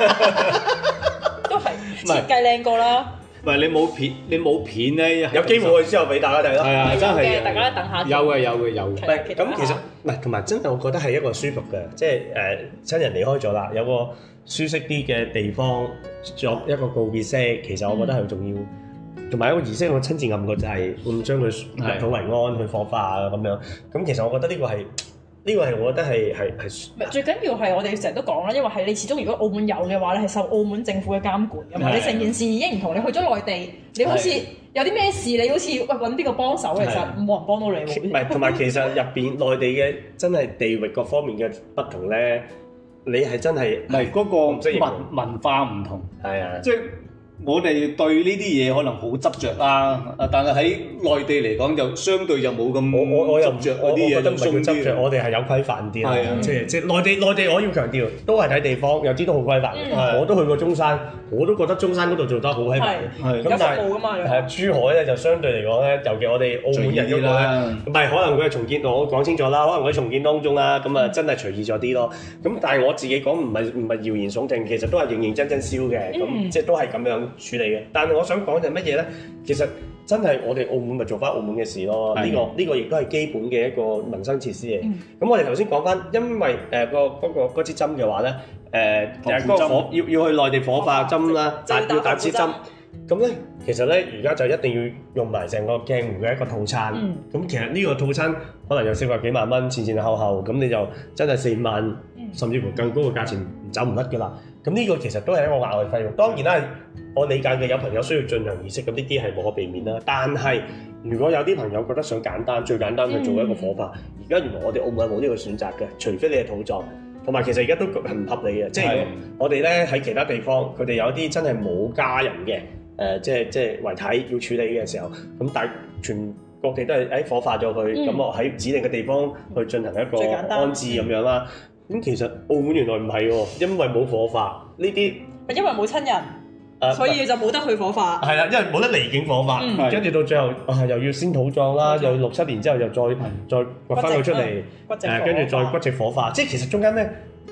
都係設計靚過啦。 唔係你冇片，你冇片咧， 有機會之後俾大家睇咯。係啊，真係大家等下。 有嘅有嘅有嘅。 咁其實唔係同埋真係，我覺得係一個舒服嘅，即係誒親人離開咗啦，有個舒適啲嘅地方作一個告別式，其實我覺得係重要。同埋一個儀式，我親自按過就係會將佢入土為安去火化啊咁樣。咁其實我覺得呢個係呢個係我覺得係係係。 最緊要係我哋成日都講啦，因為係你始終如果澳門有嘅話咧，係受澳門政府嘅監管㗎嘛。你成件事已經唔同，你去咗內地，你好似有啲咩事，你好似喂揾邊個幫手，其實冇人幫到你喎。 唔係，同埋其實入邊內地嘅真係地域各方面嘅不同咧，你係真係唔係嗰個文文化唔同。係啊，即係。我哋對呢啲嘢可能好執着啦，但係喺內地嚟講就相對就冇咁我我我又執著嗰啲嘢，就鬆啲。我哋係有規範啲啦，即係即係內地內地我要強調，都係睇地方，有啲都好規範。我都去過中山，我都覺得中山嗰度做得好規範。係咁，但係係珠海咧就相對嚟講咧，尤其我哋澳門人嗰個咧，唔係可能佢係重建，我講清楚啦，可能佢重建當中啦，咁啊真係隨意咗啲咯。咁但係我自己講唔係唔係謠言聳聽，其實都係認認真真燒嘅，咁即係都係咁樣處理嘅，但係我想講就係乜嘢咧？其實真係我哋澳門咪做翻澳門嘅事咯。呢個呢個亦都係基本嘅一個民生設施嚟。咁我哋頭先講翻，因為誒個嗰個嗰支針嘅話咧，誒誒嗰個火要要去內地火化針啦，打要打支針。咁咧其實咧而家就一定要用埋成個鏡湖嘅一個套餐。咁其實呢個套餐可能有四百幾萬蚊，前前後後咁你就真係四五萬，甚至乎更高嘅價錢走唔甩㗎啦。咁呢個其實都係一個額外費用。當然啦，我理解嘅有朋友需要進行儀式，咁呢啲係無可避免啦。但係如果有啲朋友覺得想簡單，最簡單去做一個火化，而家、嗯、原來我哋澳門係冇呢個選擇嘅，除非你係土葬。同埋其實而家都係唔合理嘅，即係的我哋咧喺其他地方，佢哋有啲真係冇家人嘅，誒、呃、即係即係遺體要處理嘅時候，咁但係全各地都係喺火化咗佢，咁、嗯、我喺指定嘅地方去進行一個安置咁樣啦。咁其實澳門原來唔係喎，因為冇火化呢啲， 因為冇親人，呃、所以就冇得去火化。 係啦，因為冇得離境火化，跟住、嗯、到最後啊又要先土葬啦，又要六七年之後又再、嗯、再掘翻佢出嚟，誒跟住再骨殖火化，即係其實中間咧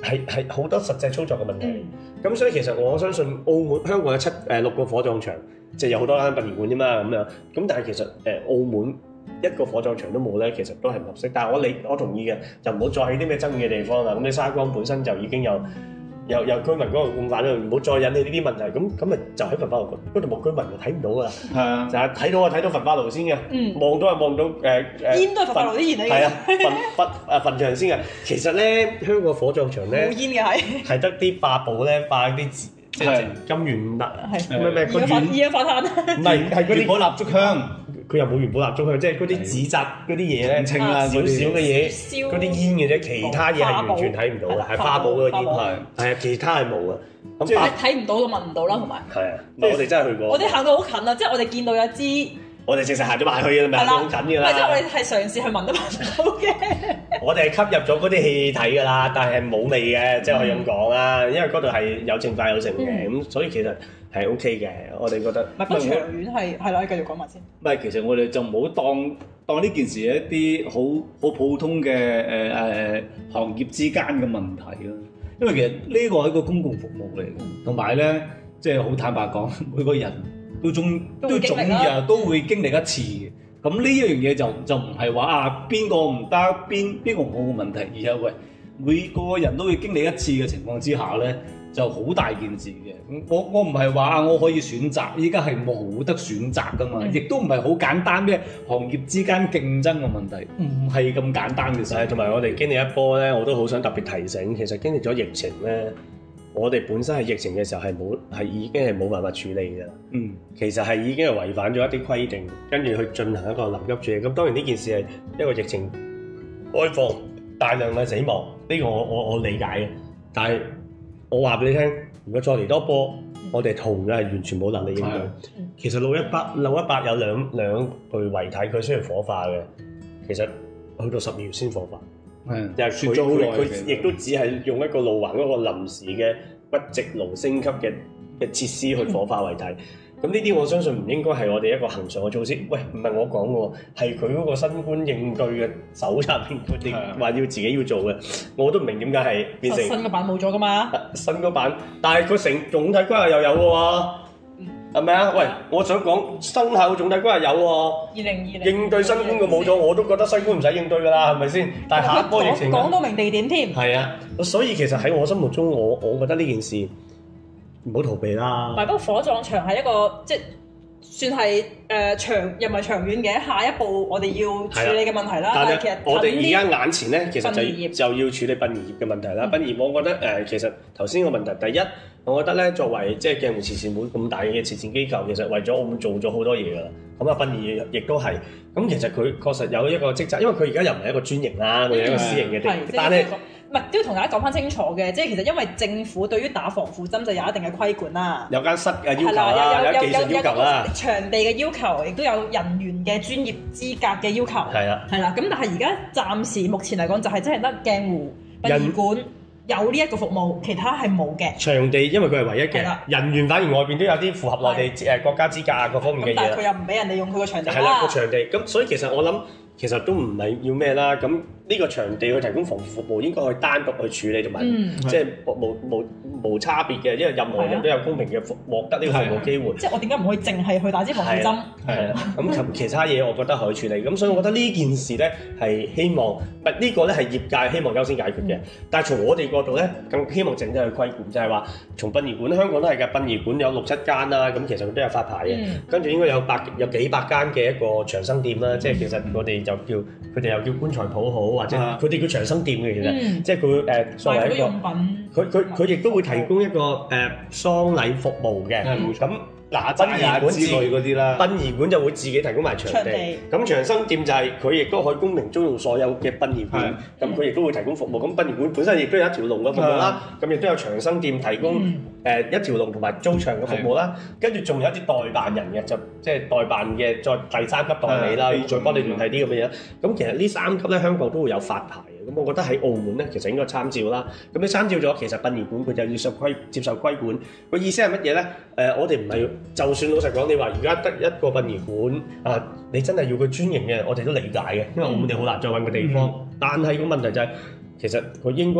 係係好多實際操作嘅問題。咁、嗯、所以其實我相信澳門香港有七誒六個火葬場，即係有好多間殯儀館啫嘛咁樣。咁但係其實誒、呃、澳門一個火葬場都冇咧，其實都係唔合適。但係我理我同意嘅，就唔好再喺啲咩爭議嘅地方啦。咁你沙崗本身就已經有。有有居民嗰個咁反啦，唔好再引起呢啲問題。咁咁咪就喺焚化爐嗰度冇居民就睇唔到噶啦。係啊，就係睇到啊睇到焚化爐先嘅。嗯，望到啊望到誒誒。煙都係焚化爐啲煙嚟嘅。係啊，焚焚誒墳場先嘅。其實咧，香港火葬場咧冇煙嘅係。係得啲化寶咧化啲即係金元蠟係咩咩個元。二氧化碳。唔係係嗰啲火蠟燭香。佢又冇元寶蠟燭香，即係嗰啲紙紮嗰啲嘢咧，少少嘅嘢，嗰啲煙嘅啫，其他嘢係完全睇唔到嘅，係花寶嗰個煙係，係啊，其他係冇嘅。咁即係睇唔到就聞唔到啦，同埋係啊，我哋真係去過。我哋行到好近啊，即係我哋見到有支，我哋直實行咗埋去嘅，咪好近嘅啦。即係我哋係嘗試去聞都聞唔到嘅。我哋係吸入咗嗰啲氣體㗎啦，但係冇味嘅，即係可以咁講啦，因為嗰度係有淨化有剩嘅，咁所以其實。係 OK 嘅，我哋覺得。不過長遠係係啦，你繼續講埋先。唔係，其實我哋就唔好當當呢件事係一啲好好普通嘅誒誒行業之間嘅問題咯。因為其實呢個係一個公共服務嚟嘅，同埋咧即係好坦白講，每個人都總都總日都會經歷一次嘅。咁呢一樣嘢就就唔係話啊邊個唔得邊邊個冇個問題，而係喂每個人都會經歷一次嘅情況之下咧。就好大件事嘅，我我唔係話我可以選擇，依家係冇得選擇噶嘛，亦都唔係好簡單咩行業之間競爭嘅問題，唔係咁簡單嘅事。同埋我哋經歷一波咧，我都好想特別提醒，其實經歷咗疫情咧，我哋本身喺疫情嘅時候係冇係已經係冇辦法處理嘅啦。嗯，其實係已經係違反咗一啲規定，跟住去進行一個臨急處理。咁當然呢件事係一個疫情開放大量嘅死亡，呢個我我我理解嘅，但係。我話俾你聽，如果再嚟多波，嗯、我哋同樣係完全冇能力應對。嗯、其實六一八六一八有兩兩具遺體，佢需要火化嘅。其實去到十二月先火化，嗯，又係佢佢佢亦都只係用一個路環嗰個臨時嘅骨殖爐升級嘅嘅設施去火化遺體。嗯咁呢啲我相信唔應該係我哋一個恆常嘅措施。喂，唔係我講嘅喎，係佢嗰個新冠應對嘅手冊佢哋話要自己要做嘅，我都唔明點解係變成新嘅版冇咗噶嘛？新嗰版，但係佢成總體規劃又有嘅喎，係咪啊？喂，我想講生效總體規劃有喎，二零二零應對新冠嘅冇咗，我都覺得新冠唔使應對㗎啦，係咪先？但係下一波疫情講到明地點添。係啊，所以其實喺我心目中，我我覺得呢件事。唔好逃避啦！唔係，不過火葬場係一個即係算係誒、呃、長又唔係長遠嘅下一步，我哋要處理嘅問題啦。但係其實我哋而家眼前咧，其實就就要處理殯儀業嘅問題啦。殯儀、嗯、我覺得誒、呃，其實頭先個問題，第一，我覺得咧作為即係鏡湖慈善會咁大嘅慈善機構，其實為咗澳門做咗好多嘢㗎啦。咁啊，殯儀亦都係。咁其實佢確實有一個職責，因為佢而家又唔係一個專營啦，佢係、嗯、一個私營嘅地方，但係。唔係都要同大家講翻清楚嘅，即係其實因為政府對於打防腐針就有一定嘅規管啦，有間室嘅要求啦，有技術要求啦，場地嘅要求，亦都有人員嘅專業資格嘅要求，係啦，係啦。咁但係而家暫時目前嚟講就係真係得鏡湖殯儀館有呢一個服務，其他係冇嘅。場地因為佢係唯一嘅，人員反而外邊都有啲符合內地誒國家資格啊各方面嘅嘢。但係佢又唔俾人哋用佢個場地啦。係啦，個場地咁，所以其實我諗。其實都唔係要咩啦，咁呢個場地去提供防腐服務應該去單獨去處理同埋，即係無無無差別嘅，因為任何人都有公平嘅服獲得呢個服務機會。即係我點解唔可以淨係去打支防腐針？係啦，咁其他嘢我覺得可以處理。咁所以我覺得呢件事咧係希望，唔係呢個咧係業界希望優先解決嘅。但係從我哋角度咧，更希望整體去規管，就係話從殯儀館，香港都係嘅，殯儀館有六七間啦，咁其實佢都有發牌嘅，跟住應該有百有幾百間嘅一個長生店啦，即係其實我哋。就叫佢哋又叫棺材鋪好，或者佢哋叫長生店嘅其實，嗯、即係佢誒作為一個，佢佢佢亦都會提供一個誒、呃、喪禮服務嘅，咁、嗯。嗱，殯儀館之類嗰啲啦，殯儀館就會自己提供埋場地。咁長生店就係佢亦都可以公平租用所有嘅殯儀館，咁佢亦都會提供服務。咁殯儀館本身亦都有一條龍嘅服務啦，咁亦都有長生店提供誒一條龍同埋租場嘅服務啦。跟住仲有一啲代辦人嘅，就即係代辦嘅再第三級代理啦，再幫你聯繫啲咁嘅嘢。咁其實呢三級咧，香港都會有發牌。咁我覺得喺澳門咧，其實應該參照啦。咁你參照咗，其實殯儀館佢就要受規接受規管。個意思係乜嘢咧？誒、呃，我哋唔係，就算老實講，你話而家得一個殯儀館啊，你真係要佢專營嘅，我哋都理解嘅，因為澳門你好難再揾個地方。嗯、但係個問題就係、是，其實佢應該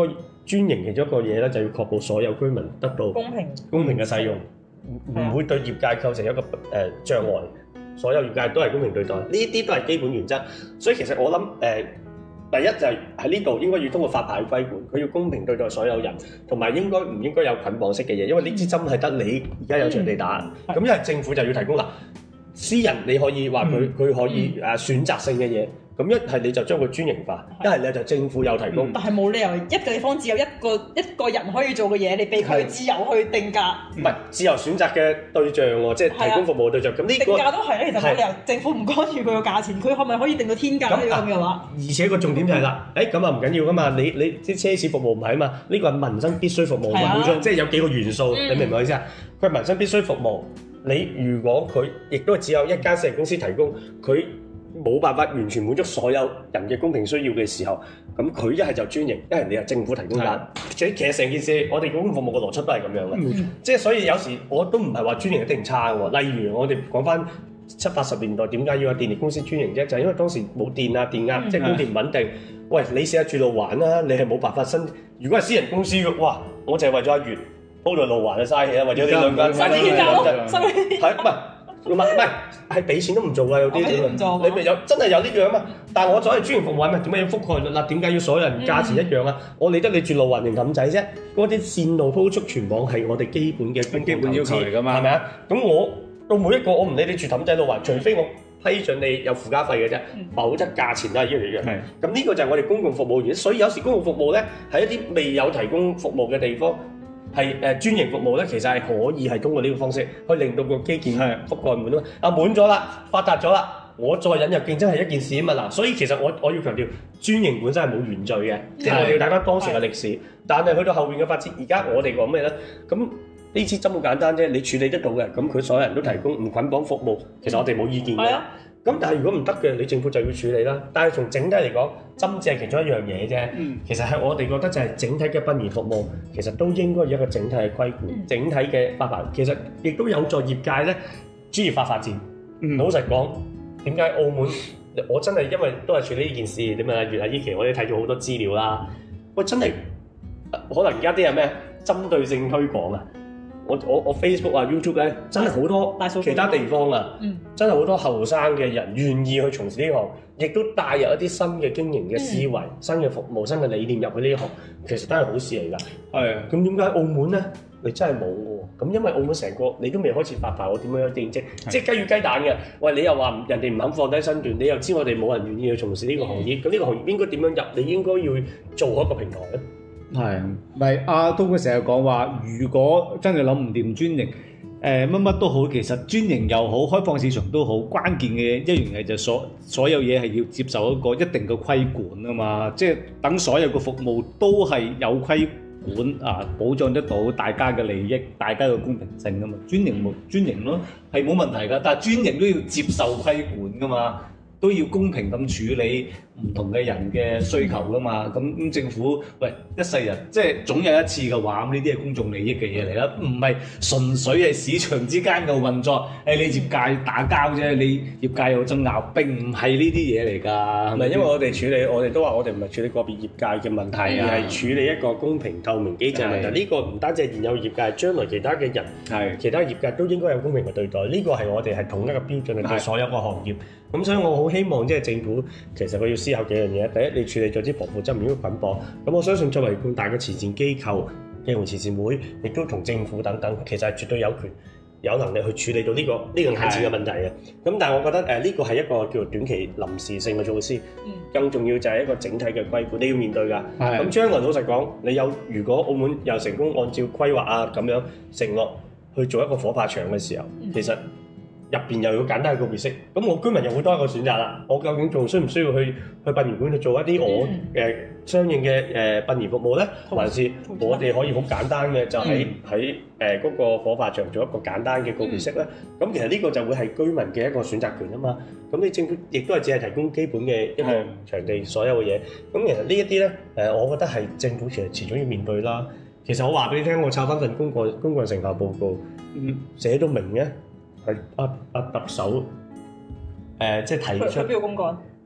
專營其中一個嘢咧，就要確保所有居民得到公平公平嘅使用，唔唔、嗯、會對業界構成一個誒、呃、障礙。所有業界都係公平對待，呢啲都係基本原則。所以其實我諗誒、呃，第一就係喺呢度應該要通過發牌規管，佢要公平對待所有人，同埋應該唔應該有捆綁式嘅嘢，因為呢支針係得你而家有場地打，咁因為政府就要提供啦。私人你可以話佢佢可以誒選擇性嘅嘢。咁一係你就將佢專營化，一係你就政府有提供。 但係冇理由一個地方只有一個一個人可以做嘅嘢，你俾佢自由去定價。唔係自由選擇嘅對象喎，即係提供服務對象。咁呢定價都係咧，其實冇理由政府唔干預佢個價錢，佢可唔可以定到天價呢？咁嘅話， 而且個重點就係啦，誒咁啊唔緊要噶嘛，你你啲奢侈服務唔係啊嘛，呢個係民生必須服務嘛，即係有幾個元素，你明唔明我意思啊？佢係民生必須服務，你如果佢亦都只有一間私人公司提供，佢冇辦法完全滿足所有人嘅公平需要嘅時候，咁佢一係就專營，一係你係政府提供緊。其實成件事，我哋公共服務嘅邏輯都係咁樣嘅，嗯、即係所以有時我都唔係話專營一定差喎。例如我哋講翻七八十年代點解要有電力公司專營啫？就係、是、因為當時冇電啊，電壓、嗯、即係供電唔穩定。喂，你試下住路環啦，你係冇辦法申。如果係私人公司嘅，哇，我就係為咗阿月鋪到路環就嘥氣啦，為咗你兩間嘥啲嘢就係唔係？唔係唔係，係俾錢都唔做㗎，有啲你咪有真係有呢樣啊嘛！但係我作為專業服務係咪點解要覆蓋率啦？點解要所有人價錢一樣啊？嗯、我理得你住路環定氹仔啫，嗰啲線路鋪速全網係我哋基本嘅基本要求嚟㗎嘛，係咪啊？咁我到每一個我唔理你住氹仔路環，除非我批准你有附加費嘅啫，否則價錢都係一樣一樣。咁呢個就係我哋公共服務員，所以有時公共服務咧喺一啲未有提供服務嘅地方。係誒專營服務咧，其實係可以係通過呢個方式，去令到個基建覆蓋滿啊嘛。啊滿咗啦，發達咗啦，我再引入競爭係一件事啊嘛嗱。所以其實我我要強調，專營本身係冇原罪嘅，即係我哋要睇翻當時嘅歷史。但係去到後邊嘅發展，而家我哋講咩咧？咁呢支針好簡單啫，你處理得到嘅，咁佢所有人都提供唔捆綁服務，其實我哋冇意見嘅。咁但係如果唔得嘅，你政府就要處理啦。但係從整體嚟講，針只係其中一樣嘢啫。嗯、其實係我哋覺得就係整體嘅殯儀服務，其實都應該有一個整體嘅規管、嗯、整體嘅發牌。其實亦都有助業界咧專業化發展。嗯、老實講，點解澳門我真係因為都係處理呢件事，你問阿月阿依琪，我哋睇咗好多資料啦。喂，真係可能而家啲係咩針對性推廣啊？我我我 Facebook 啊 YouTube 咧，真係好多其他地方啊，嗯、真係好多後生嘅人願意去從事呢行，亦都帶入一啲新嘅經營嘅思維、嗯、新嘅服務、新嘅理念入去呢行，其實都係好事嚟㗎。係啊，咁點解澳門咧？你真係冇喎。咁因為澳門成個你都未開始發牌，我點樣有定職？的即係雞與雞蛋嘅。喂，你又話人哋唔肯放低身段，你又知我哋冇人願意去從事呢個行業，咁呢、嗯、個行業應該點樣入？你應該要做好一個平台咧。 係，咪阿東佢成日講話，如果真係諗唔掂專營，誒乜乜都好，其實專營又好，開放市場都好，關鍵嘅一樣嘢就所所有嘢係要接受一個一定嘅規管啊嘛，即係等所有嘅服務都係有規管啊，保障得到大家嘅利益，大家嘅公平性啊嘛，專營冇專營咯，係冇問題㗎，但係專營都要接受規管㗎嘛。都要公平咁處理唔同嘅人嘅需求噶嘛，咁咁政府喂一世人即係總有一次嘅話，咁呢啲係公眾利益嘅嘢嚟啦，唔係純粹係市場之間嘅運作。誒，你業界打交啫，你業界有爭拗，並唔係呢啲嘢嚟㗎。 唔係因為我哋處理，我哋都話我哋唔係處理個別業界嘅問題，而係處理一個公平透明機制問題。呢個唔單止係現有業界，將來其他嘅人，係其他業界都應該有公平嘅對待。呢個係我哋係統一嘅標準嚟對所有個行業。咁所以我好希望即係政府其實佢要思考幾樣嘢。第一，你處理咗啲防腐針如果捆綁，咁我相信作為咁大嘅慈善機構，基隆慈善會亦都同政府等等，其實係絕對有權有能力去處理到呢、這個呢、這個眼前嘅問題嘅。咁的但係我覺得誒呢、呃這個係一個叫做短期臨時性嘅措施，嗯、更重要就係一個整體嘅規管，你要面對㗎。咁的將來老實講，你有如果澳門又成功按照規劃啊咁樣承諾去做一個火化場嘅時候，嗯、其實入邊又要簡單嘅告別式，咁我居民又會多一個選擇啦。我究竟仲需唔需要去去殯儀館去做一啲我誒、呃、相應嘅誒殯儀服務咧？還是我哋可以好簡單嘅就喺喺誒嗰個火化場做一個簡單嘅告別式咧？咁、嗯、其實呢個就會係居民嘅一個選擇權啊嘛。咁你政府亦都係只係提供基本嘅一個場地所有嘅嘢。咁其實呢一啲咧誒，我覺得係政府其實遲早要面對啦。其實我話俾你聽，我抄翻份公幹公幹成效報告，嗯，寫到明嘅。係阿阿特首誒、呃，即係提出邊個公幹？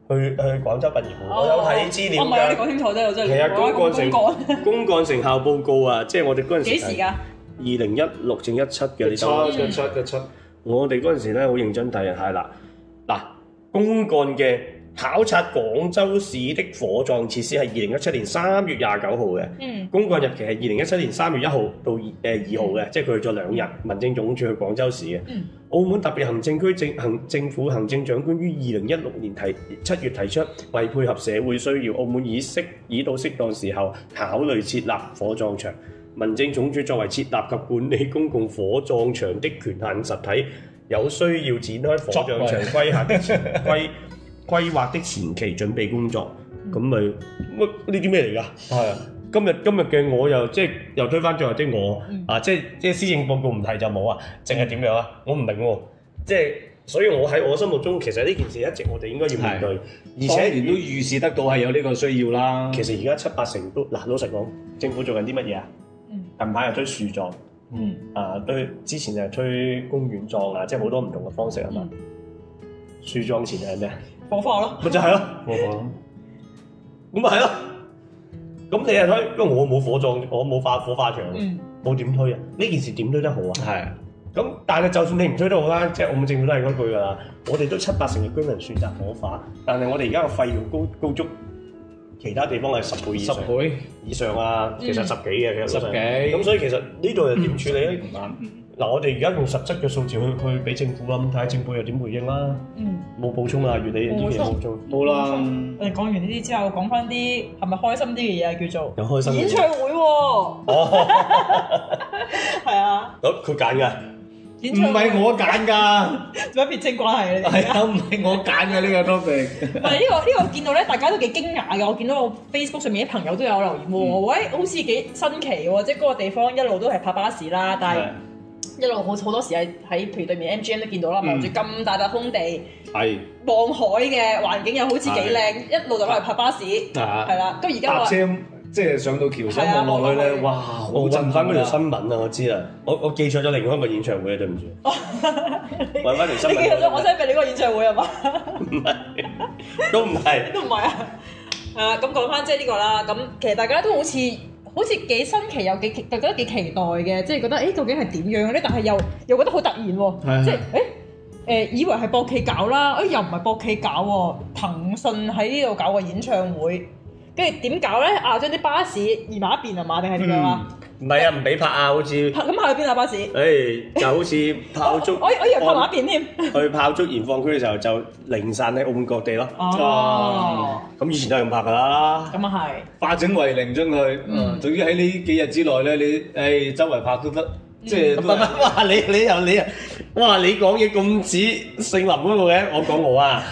去去廣州殯儀館，我有睇資料㗎。 唔係，你講清楚啫，我真係。 係啊，公幹成公幹成效報告啊，即係我哋嗰陣時。幾時㗎？二零一六正一七嘅呢個。一七一七。我哋嗰陣時咧好認真睇啊，係啦，嗱，公幹嘅考察廣州市的火葬設施係二零一七年三月廿九號嘅。嗯。公幹日期係二零一七年三月一號到誒二號嘅，嗯、即係佢去咗兩日。民政總署去廣州市嘅。嗯。澳門特別行政區政行政府行政長官於二零一六年提七月提出，為配合社會需要，澳門已適已到適當時候考慮設立火葬場。民政總署作為設立及管理公共火葬場的權限實體，有需要展開火葬場規劃的前規規劃的前期準備工作。咁咪乜呢啲咩嚟㗎？係啊，今日今日嘅我又即係又推翻最後啲我、嗯、啊！即係即係施政報告唔提就冇啊，淨係點樣啊？我唔明喎、啊，即係所以我喺我心目中，其實呢件事一直我哋應該要面對，而且亦都預示得到係有呢個需要啦。其實而家七八成都嗱，老實講，政府做緊啲乜嘢啊？近排又推樹葬，嗯啊，對，之前就係推公園葬啊，即係好多唔同嘅方式啊嘛。樹葬前係咩？火化咯，咪就係咯，火化咯，咁咪係咯。咁你係推，因為我冇火葬，我冇化火化場，冇點、嗯、推啊？呢件事點推得好啊？係的。咁但係就算你唔推都好啦，即係澳門政府都係嗰句㗎啦。我哋都七八成嘅居民選擇火化，但係我哋而家個費用高高足。其他地方係十倍以上，十倍以上啊，其實十幾嘅，其實十幾。咁所以其實呢度又點處理咧？唔啱。嗱，我哋而家用實質嘅數字去去俾政府啦，咁睇下政府又點回應啦。嗯。冇補充啊，月底呢啲嘢冇做。冇啦。我哋講完呢啲之後，講翻啲係咪開心啲嘅嘢啊？叫做有開心。演唱會喎。哦。係啊。好，佢揀㗎。唔係我揀㗎，做乜撇清關係啊？係啊，唔係我揀嘅呢個 topic。唔係呢個呢、呢個見到咧，大家都幾驚訝嘅。我見到我 Facebook 上面啲朋友都有留言喎，嗯、喂，好似幾新奇喎！即係嗰個地方一路都係泊巴士啦，但係一路好好多時係喺譬如對面 M G M 都見到啦，望住咁大笪空地，係望海嘅環境又好似幾靚，的一路就攞嚟泊巴士，係啦。咁而家話。即係上到橋上望落去咧，哇！好震翻嗰條新聞啊！我知啦，我我記錯咗另外一個演唱會啊，對唔住。揾翻條新聞。你記錯咗，我想俾你個演唱會係嘛？唔係，都唔係。都唔係啊！係啦，咁講翻即係呢個啦。咁其實大家都好似好似幾新奇又幾覺得幾期待嘅，即係覺得誒究竟係點樣咧？但係又又覺得好突然喎，即係誒誒以為係博企搞啦，誒又唔係博企搞喎，騰訊喺呢度搞個演唱會。跟住點搞咧？啊，將啲巴士移埋一邊係嘛？定係點樣啊？唔係啊，唔俾泊啊，好似泊咁泊去邊啊？巴士？誒，就好似炮竹，我我以為泊埋一邊添。去炮竹燃放區嘅時候就零散喺澳門各地咯。哦，咁以前都係咁泊噶啦。咁啊係。化整為零將佢，嗯，總之喺呢幾日之內咧，你誒周圍泊都得，即係。哇！你你又你啊！哇！你講嘢咁似姓林嗰個嘅，我講我啊。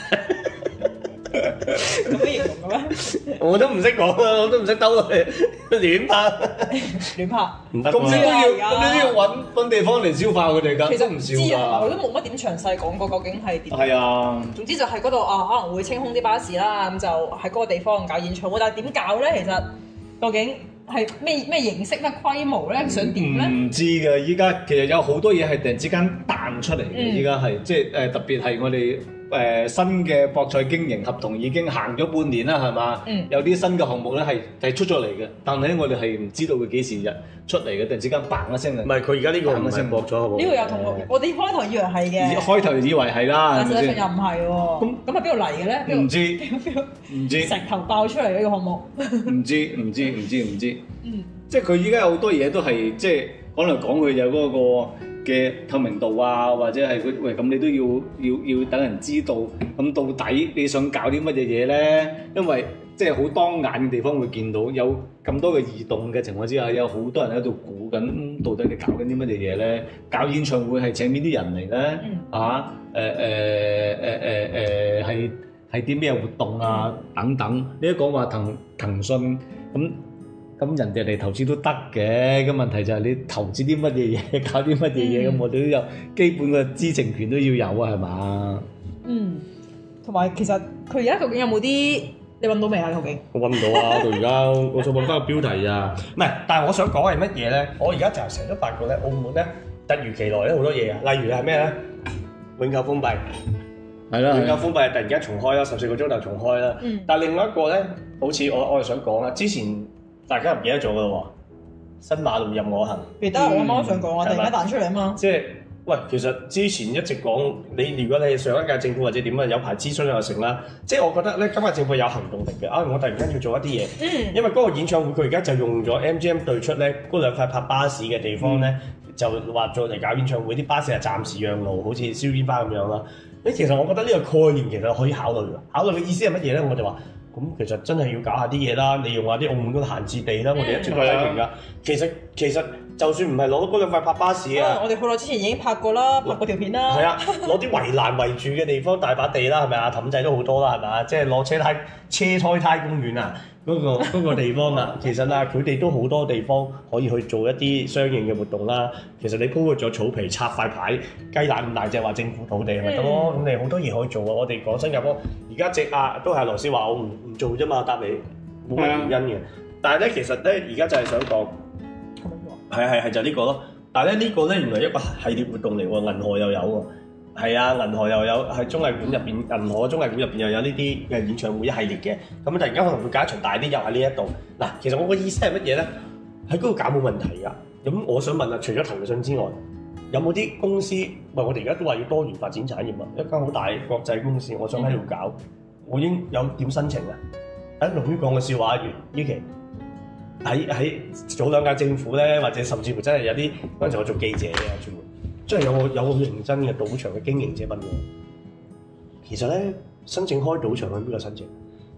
咁樣形容嘅咩？我都唔識講啊，我都唔識兜落去亂拍，亂拍唔得。咁你都要，咁你都要揾揾地方嚟消化佢哋㗎。其實唔少㗎，我都冇乜點詳細講過究竟係點。係啊。總之就係嗰度啊，可能會清空啲巴士啦，咁就喺嗰個地方搞演唱會。但係點搞咧？其實究竟係咩咩形式、咩規模咧？想點咧？唔知㗎。依家其實有好多嘢係突然之間彈出嚟嘅。依家係即係誒，特別係我哋。誒、呃、新嘅博彩經營合同已經行咗半年啦，係嘛？嗯、有啲新嘅項目咧係係出咗嚟嘅，但係咧我哋係唔知道佢幾時日出嚟嘅，突然之間嘭一聲啊！唔係佢而家呢個唔係博咗好冇？呢個又同我我哋開頭以為係嘅，開頭以為係啦，但實際上又唔係喎。咁咁係邊度嚟嘅咧？唔知唔知石頭爆出嚟呢個項目？唔知唔知唔知唔知。嗯，即係佢依家有好多嘢都係即係講嚟講去就嗰個嘅透明度啊，或者係佢喂咁你都要要要等人知道，咁到底你想搞啲乜嘢嘢咧？因為即係好當眼嘅地方會見到有咁多嘅異動嘅情況之下，有好多人喺度估緊到底你搞緊啲乜嘢嘢咧？搞演唱會係請邊啲人嚟咧？嗯、啊誒誒誒誒誒係係啲咩活動啊？等等，你一講話騰騰訊咁。咁人哋嚟投資都得嘅，咁問題就係你投資啲乜嘢嘢，搞啲乜嘢嘢，咁、嗯、我哋都有基本嘅知情權都要有啊，係嘛？嗯，同埋其實佢而家究竟有冇啲你揾到未啊？究竟我揾唔到啊！到而家我再揾翻個標題啊！唔係，但係我想講係乜嘢咧？我而家就係成日都發覺咧，澳門咧突如其來咧好多嘢啊！例如係咩咧？永久封閉， 係啦， 永久封閉突然間重開啦，十四個鐘頭重開啦。嗯、但係另外一個咧，好似我我係想講啊，之前大家唔記得咗噶咯喎，新馬路任我行。記得、嗯、我啱啱想講啊，突然間彈出嚟啊嘛。即係喂，其實之前一直講你，如果你係上一屆政府或者點啊，有排諮詢又成啦。即係我覺得咧，今屆政府有行動力嘅啊！我突然間要做一啲嘢，嗯、因為嗰個演唱會佢而家就用咗 M G M 對出咧嗰兩塊泊巴士嘅地方咧，嗯、就話做嚟搞演唱會，啲巴士係暫時讓路，好似燒煙花咁樣啦。誒，其實我覺得呢個概念其實可以考慮嘅。考慮嘅意思係乜嘢咧？我就話，咁其實真係要搞下啲嘢啦，利用下啲澳門嗰個閒置地啦。嗯、我哋一直都批評㗎。其實其實就算唔係攞到嗰兩塊泊巴士啊，我哋好耐之前已經拍過啦，拍過條片啦。係啊，攞啲圍欄圍住嘅地方大把地啦，係咪啊？氹仔都好多啦，係咪啊？即係攞車胎車胎胎公園啊！嗰、那個那個地方啊，其實啊，佢哋都好多地方可以去做一啲相應嘅活動啦。其實你鋪咗草皮，插塊牌，雞蛋咁大隻話政府土地係咪得咯？咁、嗯、你好多嘢可以做啊！我哋講新加坡而家直壓都係羅斯話我唔唔做啫嘛，答你冇乜原因嘅。的但係咧，其實咧而家就係想講，係係係就呢個咯。但係咧呢個咧原來一個系列活動嚟喎，銀河又有喎。係啊，銀河又有喺綜藝館入邊，銀河綜藝館入邊又有呢啲嘅演唱會一系列嘅，咁突然間可能會搞一場大啲，又喺呢一度。嗱，其實我個意思係乜嘢咧？喺嗰度搞冇問題㗎。咁我想問啊，除咗騰訊之外，有冇啲公司？唔係我哋而家都話要多元發展產業啊，一間好大國際公司，我想喺度搞，嗯、我應有點申請啊？喺龍於講嘅笑話完呢期，喺喺早兩屆政府咧，或者甚至乎真係有啲嗰陣時我做記者嘅專門。真係有個有個認真嘅賭場嘅經營者問我，其實咧申請開賭場去邊度申請？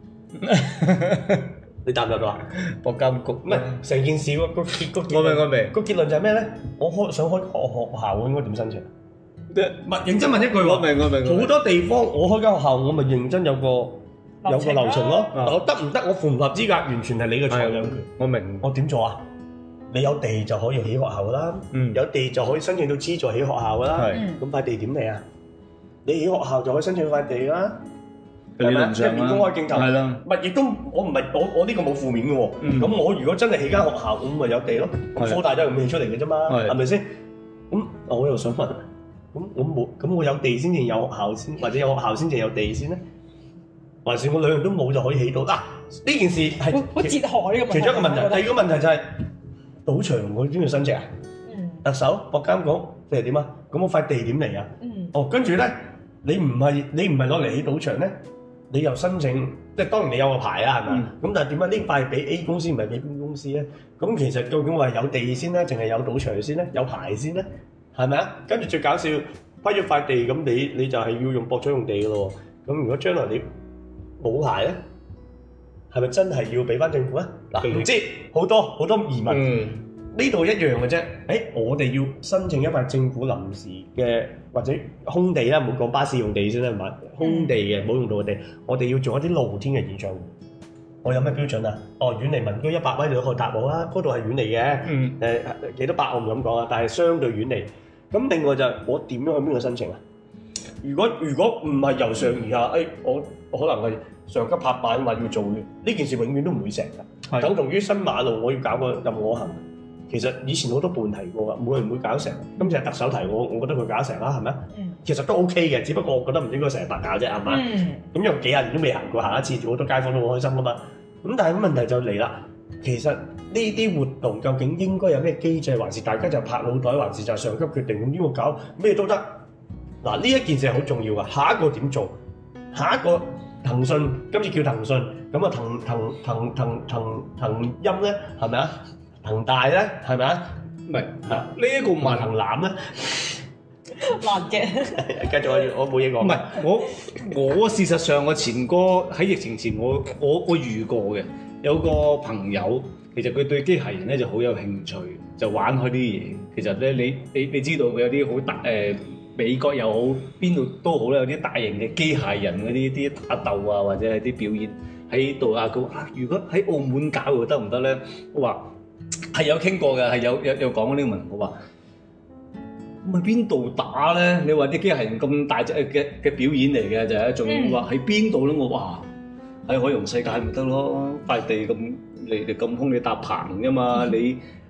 你答唔答到啊？博監局唔係成件事個個結個我明我明個結論就係咩咧？我開想開學學校，我應該點申請？唔係認真問一句，我明我明。好多地方我開間學校，我咪認真有個有個流程咯。我得唔得？我符唔符合資格，完全係你嘅裁量權。我明。我點做啊？你有地就可以起學校噶啦，嗯、有地就可以申請到資助起學校噶啦。咁塊、嗯、地點嚟啊？你起學校就可以申請塊地啦，係咪？一面公開競投，唔係亦都我唔係我我呢個冇負面嘅喎。咁、嗯、我如果真係起間學校，咁咪有地咯。科的大都係咁起出嚟嘅啫嘛，係咪先？咁我又想問，咁我冇咁我有地先至有學校先，或者有學校先至有地先咧？還是我兩樣都冇就可以起到？嗱、啊，呢件事係好哲學呢個問題。其中一個問題，第二個問題就係、是。賭場我邊度申請啊？嗯、特首、博監局定係點啊？咁我塊地點嚟啊？嗯、哦，跟住咧，你唔係你唔係攞嚟起賭場咧，你又申請，即係當然你有個牌啊，係咪？咁、嗯、但係點解呢塊俾 A 公司唔係俾 B 公司咧？咁其實究竟我係有地先咧，定係有賭場先咧？有牌先咧？係咪啊？跟住最搞笑，批咗塊地，咁你你就係要用博彩用地嘅咯。咁如果將來你冇牌咧？係咪真係要俾翻政府咧？嗱，唔知好多好多疑問。呢度、嗯、一樣嘅啫。誒、欸，我哋要申請一塊政府臨時嘅或者空地啦，唔好講巴士用地先啦，係咪？空地嘅冇用到嘅地，我哋要做一啲露天嘅演唱會。我有咩標準啊？哦，遠離民居一百米就可以達到啦。嗰度係遠離嘅。誒、嗯，幾、呃、多百我唔敢講啊，但係相對遠離。咁另外就係我點樣去邊度申請啊？如果如果唔係由上而下，誒、欸，我我可能係。上級拍板話要做嘅呢件事，永遠都唔會成㗎。的等同於新馬路，我要搞個任我行。其實以前好多伴提過㗎，冇人會搞成。今次係特首提我，我覺得佢搞成啦，係咪？嗯、其實都 OK 嘅，只不過我覺得唔應該成日白搞啫，係嘛？咁有、嗯、幾廿年都未行過，行一次，好多街坊都好開心㗎嘛。咁但係問題就嚟啦，其實呢啲活動究竟應該有咩機制，還是大家就拍腦袋，還是就上級決定咁邊個搞咩都得？嗱，呢一件事係好重要㗎。下一個點做？下一個。騰訊今次叫騰訊，咁啊騰騰騰騰騰騰音咧，係咪啊？騰大咧，係咪啊？唔係，呢一個問騰南咧，難嘅。繼續，我冇嘢講。唔係，我我事實上我前哥喺疫情前，我我我遇過嘅，有個朋友，其實佢對機械人咧就好有興趣，就玩開啲嘢。其實咧，你你你知道佢有啲好大誒。呃美國又好，邊度都好啦，有啲大型嘅機械人嗰啲啲打鬥啊，或者係啲表演喺度啊。佢話：如果喺澳門搞又得唔得咧？我話係有傾過嘅，係有有有講過呢個問題。我話咁喺邊度打咧？你話啲機械人咁大隻嘅嘅表演嚟嘅就係，仲要話喺邊度咧？我話喺海洋世界咪得咯，塊地咁你你咁空，你搭棚㗎嘛？你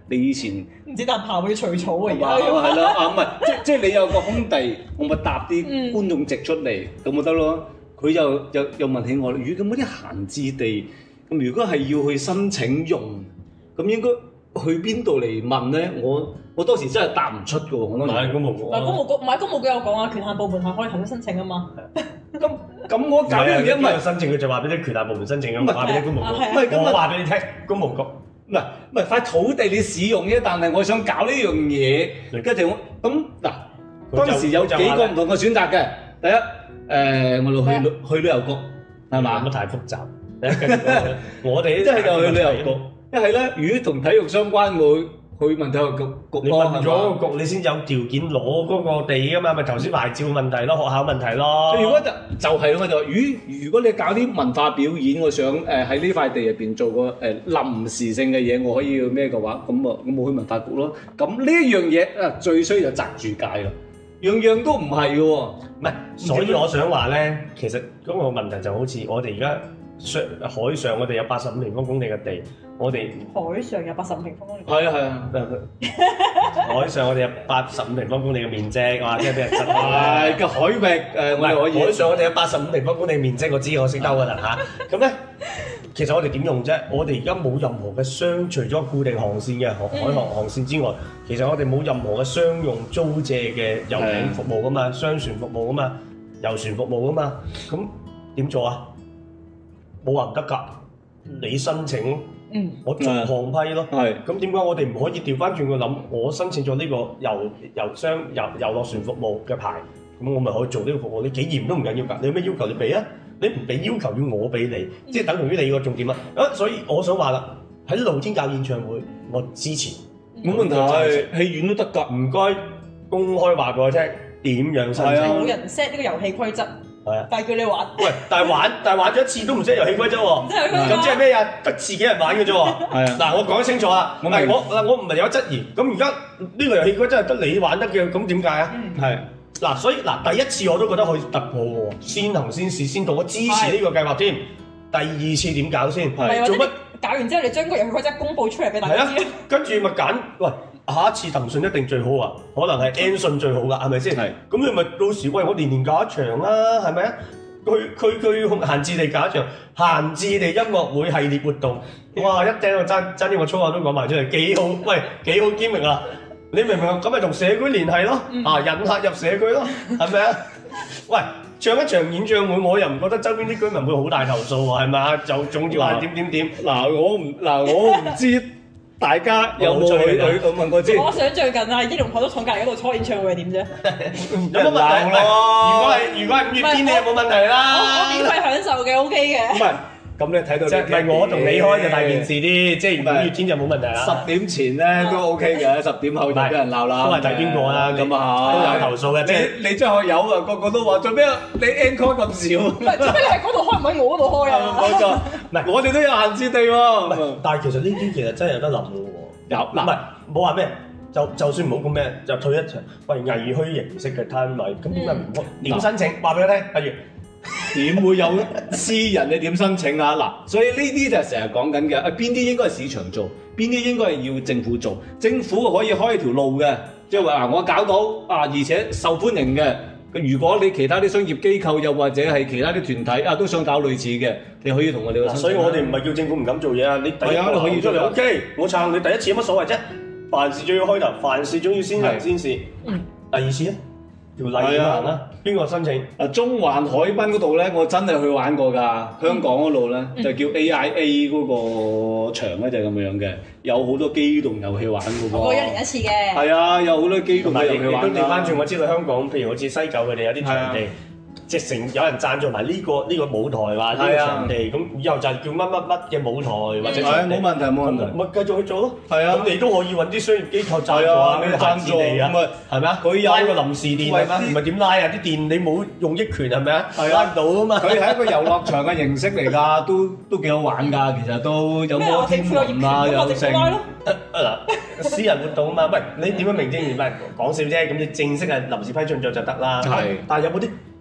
你以前唔知搭炮要除草啊，而家係啦啊，唔係即即係你有個空地，我咪搭啲觀眾席出嚟咁咪得咯。佢又又又問起我，如果咁嗰啲閒置地，咁如果係要去申請用，咁應該去邊度嚟問咧？我我當時真係答唔出嘅喎，我當時。 買公務局。 唔係公務局，唔係公務局有講啊，權限部門係可以提出申請啊嘛。 咁咁我搞呢樣嘢唔係申請，佢就話俾啲權限部門申請咁，話俾啲公務局。 唔係咁我話俾你聽，公務局。 唔係唔係塊土地你使用啫，但係我想搞呢樣嘢，跟住我咁嗱，當時有幾個唔同嘅選擇嘅。第一，誒我哋去旅去旅遊局係嘛？ 乜太複雜。我哋一係就去旅遊局，一係咧，如果同體育相關，會去問體育局局。 你問咗個局，你先有條件攞嗰個地㗎嘛？咪頭先牌照問題咯，學校問題咯。 如果就就係咯，就如如果你搞啲文化表演，我想誒喺呢塊地入邊做個誒臨時性嘅嘢，我可以咩嘅話，咁啊咁我去文化局咯。咁呢一樣嘢啊，最衰就擲住界啦，樣樣都唔係嘅喎。 唔係，所以我想話咧，其實嗰個問題就好似我哋而家。上海上我哋有八十五平方公里嘅地，我哋海上有八十五平方公里。 係啊係啊， 海上我哋有八十五平方公里嘅面積，哇！即係俾人執啦。係嘅海域誒，我哋可以。 海上我哋有八十五平方公里面積，我知我識兜㗎啦嚇。咁咧，其實我哋點用啫？我哋而家冇任何嘅商，除咗固定航線嘅海航航線之外，其實我哋冇任何嘅商用租借嘅遊艇服務㗎嘛，商船服務㗎嘛，遊船服務㗎嘛。咁點做啊？冇話唔得㗎，你申請，嗯、我逐項批咯。係，咁點解我哋唔可以調翻轉個諗？我申請咗呢個遊遊商遊遊樂船服務嘅牌，咁我咪可以做呢個服務。你幾嚴都唔緊要㗎，你有咩要求你俾啊？你唔俾要求要我俾你，嗯、即係等同於你個重點啊！啊，所以我想話啦，喺露天搞演唱會，我支持，冇問題，戲院都得㗎。唔該，公開話俾我聽點樣申請。 冇人 set 呢個遊戲規則。但係叫你玩，喂！ 但係玩，但係玩咗一次都唔識遊戲規則喎。咁即係咩啊？得自己人玩嘅啫喎。係啊。嗱，我講清楚啦。我我我唔係有質疑。咁而家呢個遊戲規則係得你玩得嘅，咁點解啊？係。嗱，所以嗱，第一次我都覺得可以突破喎，先行先試先到，我支持呢個計劃添。第二次點搞先？係。做乜？搞完之後，你將個遊戲規則公佈出嚟俾大家知。係啊。跟住咪揀，喂！下一次騰訊一定最好啊，可能係 N 訊最好噶，係咪先？係。咁你咪到時喂我年年搞一場啦，係咪啊？佢佢佢閒置地搞一場，閒置地音樂會系列活動，哇！一聽我爭爭啲我粗口都講埋出嚟，幾好，喂，幾好兼明啊！你明唔明啊？咁咪同社區聯繫咯，啊引客入社區咯，係咪啊？喂，唱一場演唱會，我又唔覺得周邊啲居民會好大投訴喎，係咪啊？就總之話點點點， 嗱我唔嗱我唔知。大家有冇去去問過先？ 我想最近啊，益隆海都廠隔離嗰度初演唱會係點啫？ 有乜問題？如果係如果係五月天，你有冇問題啦？ 我我免費享受嘅 OK 嘅。 唔係，咁你睇到即係唔係我同你開就大件事啲，即係五月天就冇問題啦。 十點前咧都 OK 嘅，十點後就俾人鬧啦。 都係睇邊個啦？咁啊都有投訴嘅。 你你張學友啊，個個都話做咩啊？你 encore 咁少？ 唔係做咩你喺嗰度開唔喺我嗰度開啊？ 冇錯，唔係我哋都有閒置地喎。 但係其實呢啲其實真係有得諗嘅喎。有嗱，唔係冇話咩，就就算唔好咁咩，就退一場，喂藝墟形式嘅攤位，咁點解唔開？點申請？話俾我聽，不如點會有私人你點申請啊？嗱，所以呢啲就係成日講緊嘅，啊邊啲應該係市場做，邊啲應該係要政府做，政府可以開一條路嘅，即係話啊我搞到啊，而且受歡迎嘅。如果你其他啲商業機構又或者係其他啲團體啊都想搞類似嘅，你可以同我哋。 所以我哋唔係叫政府唔敢做嘢啊！你第一個可以出嚟 OK，我撐你第一次有乜所謂啫？凡事總要開頭，凡事總要先行先試。嗯。第二次咧，條例點行啦？邊個申請？ 啊，中環海濱嗰度咧，我真係去玩過㗎。香港嗰度咧就叫 A I A 嗰個場咧就係咁樣嘅，有好多機動遊戲玩㗎喎。 我過一年一次嘅。 係啊，有好多機動遊戲玩。 都調翻轉，我知道香港，譬如好似西九佢哋有啲場地。直成有人贊助埋呢個呢個舞台話呢個場地，咁以後就係叫乜乜乜嘅舞台或者場地，冇問題冇問題，咪繼續去做咯。係啊，咁你都可以揾啲商業機構贊助啊，咩贊助啊，係咪啊？佢拉個臨時電係咪？唔係點拉啊？啲電你冇用益權係咪啊？拉唔到啊嘛。佢係一個遊樂場嘅形式嚟㗎，都都幾好玩㗎。其實都有摩天輪啊，有剩。嗱，私人活動啊嘛，喂，你點樣名正言順講笑啫？咁你正式係臨時批准咗就得啦。係，但係有冇啲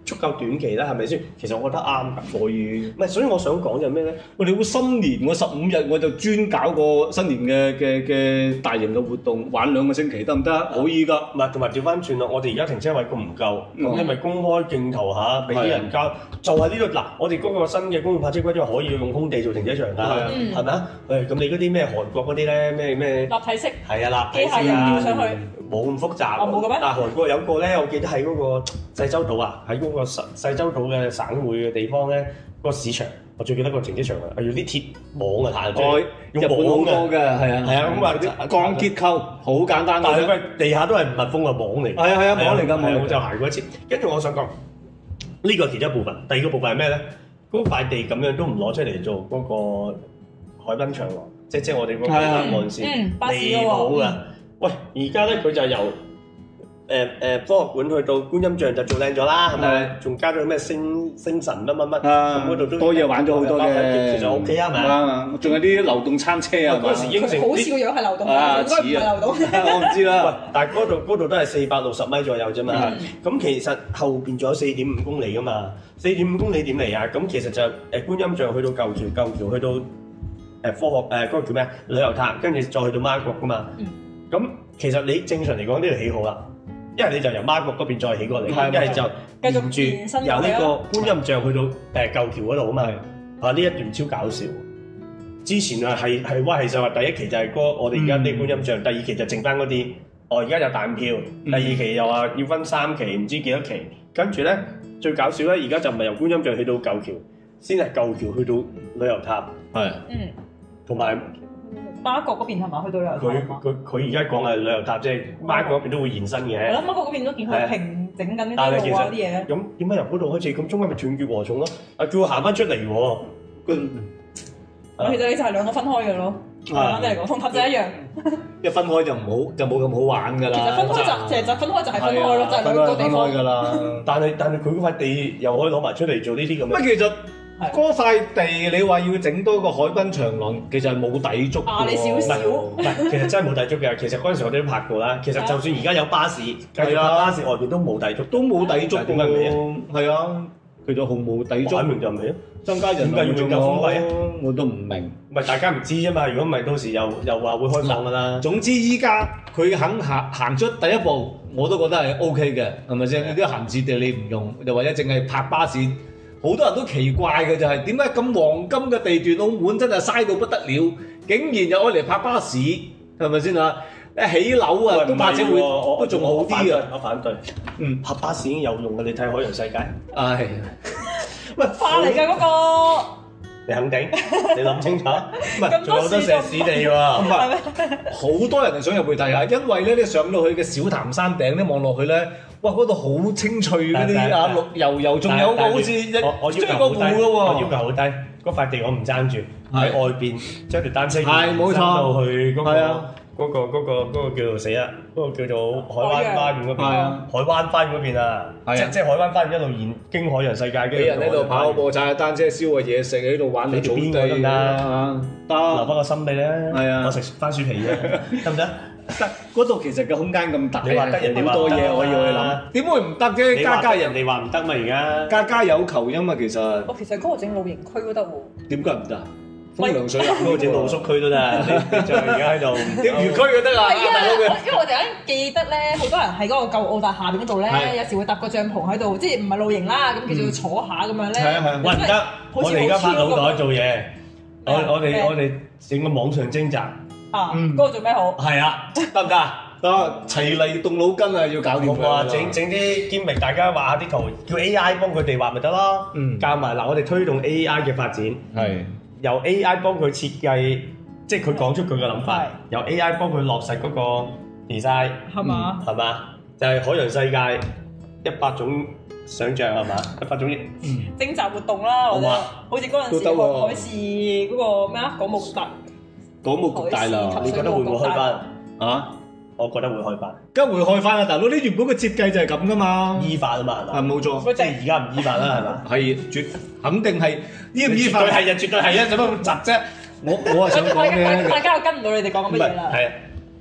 足夠短期啦，係咪先？其實我覺得啱㗎， 可以。 唔係，所以我想講就係咩咧？ 我哋會新年我十五日我就專搞個新年嘅嘅嘅大型嘅活動，玩兩個星期得唔得？可以㗎。 唔係，同埋調翻轉咯，我哋而家停車位咁唔夠，咁你咪公開競投下，俾啲人交。就係呢度嗱，我哋嗰個新嘅公共泊車規則可以用空地做停車場㗎，係咪啊？誒，咁你嗰啲咩韓國嗰啲咧，咩咩立體式係啊，立體式機械人吊上去， 冇咁複雜。 哦，冇嘅咩？ 但係韓國有個咧，我記得喺嗰個濟州島啊，喺嗰個細濟州島嘅省會嘅地方咧，個市場，我最記得個停車場啊，係用啲鐵網啊，彈出，用網嘅， 係啊，係啊，咁啊鋼結構好簡單， 但係佢地下都係密封嘅網嚟， 係啊係啊網嚟㗎，網我就行過一次。跟住我想講呢個其中一部分，第二個部分係咩咧？嗰塊地咁樣都唔攞出嚟做嗰個海濱長廊，即即係我哋嗰個岸線離譜㗎。喂，而家咧佢就由誒誒科學館去到觀音像就做靚咗啦，係咪？仲加咗咩星星辰乜乜乜，咁嗰度都多嘢玩咗好多嘅， 其實 OK 啊，係咪啊？ 仲有啲流動餐車啊， 嗰時應承好似個樣係流動，應該唔係流動。 我唔知啦。 喂，但係嗰度嗰度都係四百六十米左右啫嘛。咁其實後邊仲有四點五公里噶嘛。四點五公里點嚟啊？咁其實就誒觀音像去到舊橋，舊橋去到誒科學誒嗰個叫咩啊？旅遊塔，跟住再去到媽閣噶嘛。咁其實你正常嚟講呢度起好啦。一係你就由媽閣嗰邊再起過嚟，一係就沿住由呢個觀音像去到誒舊橋嗰度啊嘛。啊，呢一段超搞笑。之前啊係係哇，其實話第一期就係嗰我哋而家啲觀音像，第二期就剩翻嗰啲。哦，而家有彈票，第二期又話要分三期，唔知幾多期。跟住咧最搞笑咧，而家就唔係由觀音像去到舊橋，先係舊橋去到旅遊塔。係，嗯，同埋。 媽閣嗰邊係咪去到旅遊塔？ 佢佢佢而家講係旅遊塔，即係媽閣嗰邊都會延伸嘅。 係咯，媽閣嗰邊都見佢平整緊啲路啊啲嘢。 咁點解由嗰度開始？咁中間咪斷絕禾蟲咯？啊，叫我行翻出嚟喎。 其實你就係兩個分開嘅咯。簡單嚟講，同塔仔一樣。 一分開就唔好，就冇咁好玩㗎啦。 其實分開就其實就分開就係分開咯，就係兩個地方㗎啦。 但係但係佢嗰塊地又可以攞埋出嚟做呢啲咁嘅。 乜其實？嗰塊地你話要整多個海濱長廊，其實係冇抵觸啊，你少少。 唔係，其實真係冇抵觸嘅。其實嗰陣時我哋都拍過啦。其實就算而家有巴士，繼續拍巴士外邊都冇抵觸， 都冇抵觸嘅。 點解唔係啊？ 係啊，佢就毫無抵觸。 擺明就唔係啊，增加人點解要仲有封閉啊？ 我都唔明。 唔係大家唔知啫嘛。如果唔係，到時又又話會開放㗎啦。 總之依家佢肯行行出第一步，我都覺得係 O K 嘅，係咪先？呢啲閒置地你唔用，又或者淨係泊巴士。好多人都奇怪嘅就係點解咁黃金嘅地段，澳門真係嘥到不得了，竟然又愛嚟泊巴士，係咪先啊？一起樓啊，都或者會都仲好啲啊！ 我反對，嗯，泊巴士已經有用嘅，你睇海洋世界。唉， 喂，花嚟㗎嗰個， 你肯定？你諗清楚？唔係，仲有好多石屎地喎。唔係， 好多人係想入去睇下，因為咧你上到去嘅小潭山頂咧望落去咧。哇！嗰度好清脆嗰啲啊，綠油油，仲有個好似一追個湖嘅喎。 我要求好低，嗰塊地我唔爭住喺外邊將條單車係冇錯到去嗰個嗰個嗰個嗰個叫做死啊，嗰個叫做海灣花園嗰邊。海灣花園嗰邊啊，即即海灣花園一路沿經海洋世界嘅。 啲人喺度跑步、踩單車、燒個嘢食，喺度玩你草地得唔得？得， 留翻個心俾你啦。 係啊， 我食番薯皮啫，得唔得？ 得，嗰度其實個空間咁大， 你話得人哋話好多嘢可以去諗，點會唔得啫？家家人哋話唔得嘛，而家家家有求因嘛，其實。 哦，其實嗰個整露營區都得喎。 點解唔得？風涼水嗰個整露宿區都得，你就而家喺度釣魚區就得啦。 係啊，因為我突然間記得咧，好多人喺嗰個舊澳大廈邊嗰度咧，有時會搭個帳篷喺度，即係唔係露營啦，咁叫做坐下咁樣咧。 係啊係啊。 喂，唔得，我哋而家拍腦袋做嘢，我我哋我哋整個網上徵集。 啊，嗰個做咩好？ 係啊，得唔得？ 得，齊嚟動腦筋啊，要搞掂佢。整整啲兼明，大家畫下啲圖，叫 A I 幫佢哋畫咪得咯。嗯，教埋嗱，我哋推動 A I 嘅發展，係由 A I 幫佢設計，即係佢講出佢嘅諗法，由 A I 幫佢落實嗰個 design，係嘛？係嘛？就係海洋世界一百種想像係嘛？一百種徵集活動啦，或者好似嗰陣時海事嗰個咩啊，港務特。 港務局大樓， 你覺得會唔會開翻啊？我覺得會開翻， 梗係會開翻啦！大佬，你原本嘅設計就係咁噶嘛， 依法啊嘛，係嘛？ 係冇錯， 即係而家唔依法啦，係嘛？ 係絕肯定係依唔依法？ 絕對係啊，絕對係啊，做乜咁窒啫？ 我我係想講咩？ 大家又跟唔到你哋講緊乜嘢啦？ 係啊，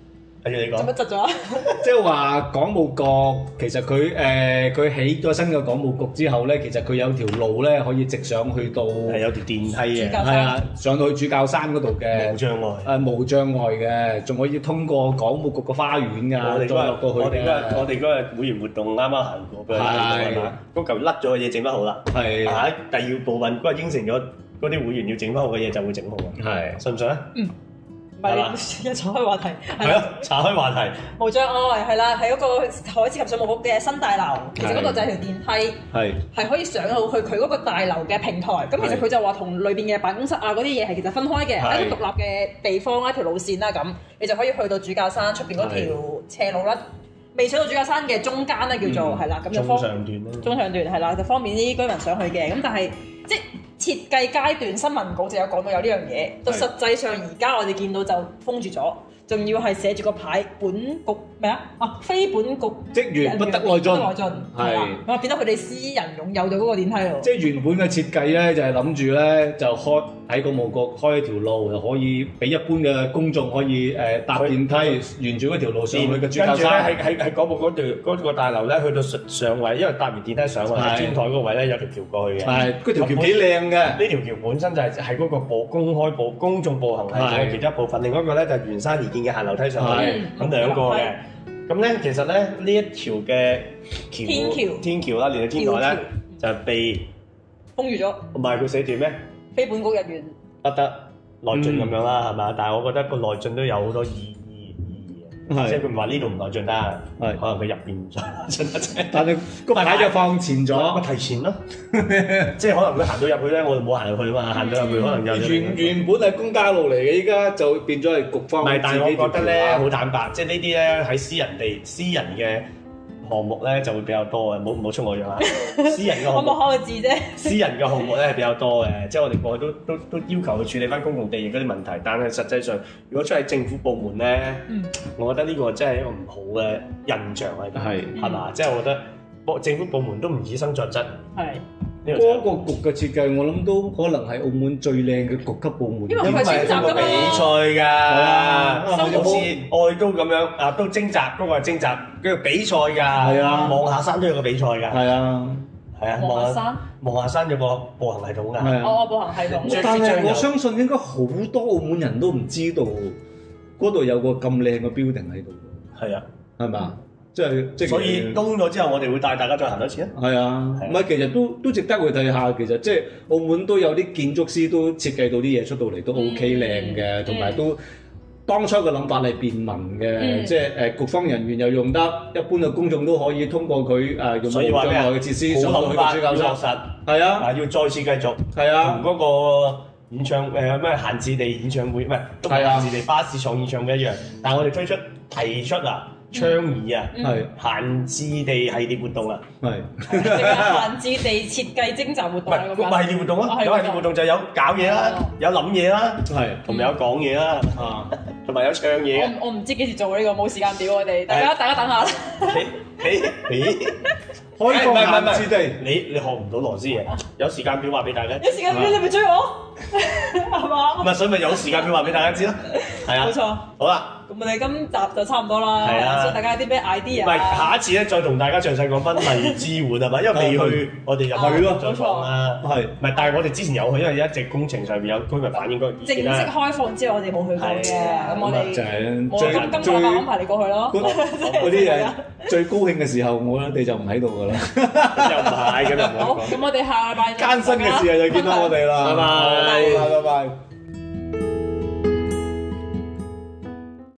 跟住你講。 做乜窒咗？ 即係話港務局其實佢誒佢起咗新嘅港務局之後咧，其實佢有條路咧可以直上去到係有條電梯嘅， 係啊，上到去主教山嗰度嘅無障礙。 誒無障礙嘅，仲可以通過港務局嘅花園㗎， 我哋再落到去。 我哋嗰日我哋嗰日會員活動啱啱行過，俾佢睇到係嘛？嗰嚿甩咗嘅嘢整得好啦。係。下第二部分嗰日應承咗嗰啲會員要整翻好嘅嘢就會整好啊。係。信唔信啊？嗯。 唔係，一岔開話題。 係咯，岔開話題。 無障礙係啦，係嗰個海事及水務局嘅新大樓，其實嗰度就係條電梯，係係可以上到去佢嗰個大樓嘅平台。咁其實佢就話同裏邊嘅辦公室啊嗰啲嘢係其實分開嘅，係一個獨立嘅地方一條路線啦咁，你就可以去到主教山出邊嗰條斜路啦。未上到主教山嘅中間咧叫做係啦，咁就方中上段啦。中上段係啦，就方便啲居民上去嘅。咁但係即係設計階段，新聞稿就有講到有呢樣嘢。到實際上而家我哋見到就封住咗，仲要係寫住個牌，本局咩啊？啊，非本局職員不得內進。 內進係啦，咁啊變咗佢哋私人擁有到嗰個電梯咯。 即係原本嘅設計咧，就係諗住咧就開喺個務局開一條路，就可以俾一般嘅公眾可以誒搭電梯沿住嗰條路上去嘅主教山。 跟住咧喺喺喺嗰部嗰條嗰個大樓咧，去到上上位，因為搭完電梯上去天台嗰個位咧有條橋過去嘅。係，嗰條橋幾靚嘅。呢條橋本身就係係嗰個步公開步公眾步行係嘅其中一部分，另外一個咧就係沿山而建嘅行樓梯上去，咁兩個嘅。咁咧其實咧呢一條嘅橋天橋天橋啦，連到天台咧就被封住咗。 唔係佢寫住咩？非本局人員不得內進咁樣啦，係嘛？但係我覺得個內進都有好多意義意義嘅，即係佢唔話呢度唔內進得，係可能佢入邊唔內進得啫。但係個牌就放前咗，我提前咯，即係可能佢行到入去咧，我就冇行入去啊嘛，行到入去可能有原原本係公家路嚟嘅，依家就變咗係局方。 唔係，但係我覺得咧好坦白，即係呢啲咧喺私人地私人嘅項目咧就會比較多嘅，唔好唔好出我樣啊！私人嘅項目， 我冇開個字啫。 私人嘅項目咧係比較多嘅，即係我哋過去都都都要求去處理翻公共地域嗰啲問題，但係實際上如果出喺政府部門咧，嗯、我覺得呢個真係一個唔好嘅印象喺度，係係嘛？即係我覺得政府部門都唔以身作則。係。 嗰個局嘅設計，我諗都可能係澳門最靚嘅局級部門， 因為佢係選擇㗎嘛， 比賽㗎，好似愛都咁樣啊，都徵集嗰個係徵集，叫做比賽㗎，係啊，望下山都有個比賽㗎，係啊，係啊，望下山，望下山有個步行系統㗎，係啊， 哦，步行系統， 但係我相信應該好多澳門人都唔知道嗰度有個咁靚嘅 building 喺度，係啊，係嘛？即係即係，所以東咗之後，我哋會帶大家再行多次啊！係啊，唔係其實都都值得去睇下。其實即係澳門都有啲建築師都設計到啲嘢出到嚟都 OK 靚嘅，同埋都當初嘅諗法係便民嘅，即係誒局方人員又用得，一般嘅公眾都可以通過佢誒用無障礙嘅設施上到去主教山。係啊，啊要再次繼續係啊，同嗰個演唱誒咩閒置地演唱會唔係都係閒置地巴士廠演唱會一樣，但係我哋推出提出啊。倡議啊，係閒置地系列活動啊，係閒置地設計徵集活動，唔係唔係系列活動啊，有系列活動就有搞嘢啦，有諗嘢啦，係同埋有講嘢啦，啊，同埋有唱嘢。 我我唔知幾時做呢個，冇時間表我哋，大家大家等下啦。 你你你開放閒置地，你你學唔到螺絲嘢，有時間表話俾大家。 有時間表你咪追我，係嘛？ 唔係，所以咪有時間表話俾大家知咯。係啊，冇錯。好啦。 咁我哋今集就差唔多啦，所以大家有啲咩 idea？ 唔係下一次咧，再同大家詳細講翻荔枝碗係嘛？因為未去，我哋入去咯，再講啦。係，唔係？但係我哋之前有去，因為一直工程上邊有居民反映過意見啦。正式開放之後，我哋冇去過嘅，咁我哋就係冇今今個禮拜安排你過去咯。 嗰啲嘢最高興嘅時候，我哋就唔喺度㗎啦。 又唔係咁又唔好。 好，咁我哋下禮拜艱辛嘅時候就見到我哋啦。拜拜，拜拜。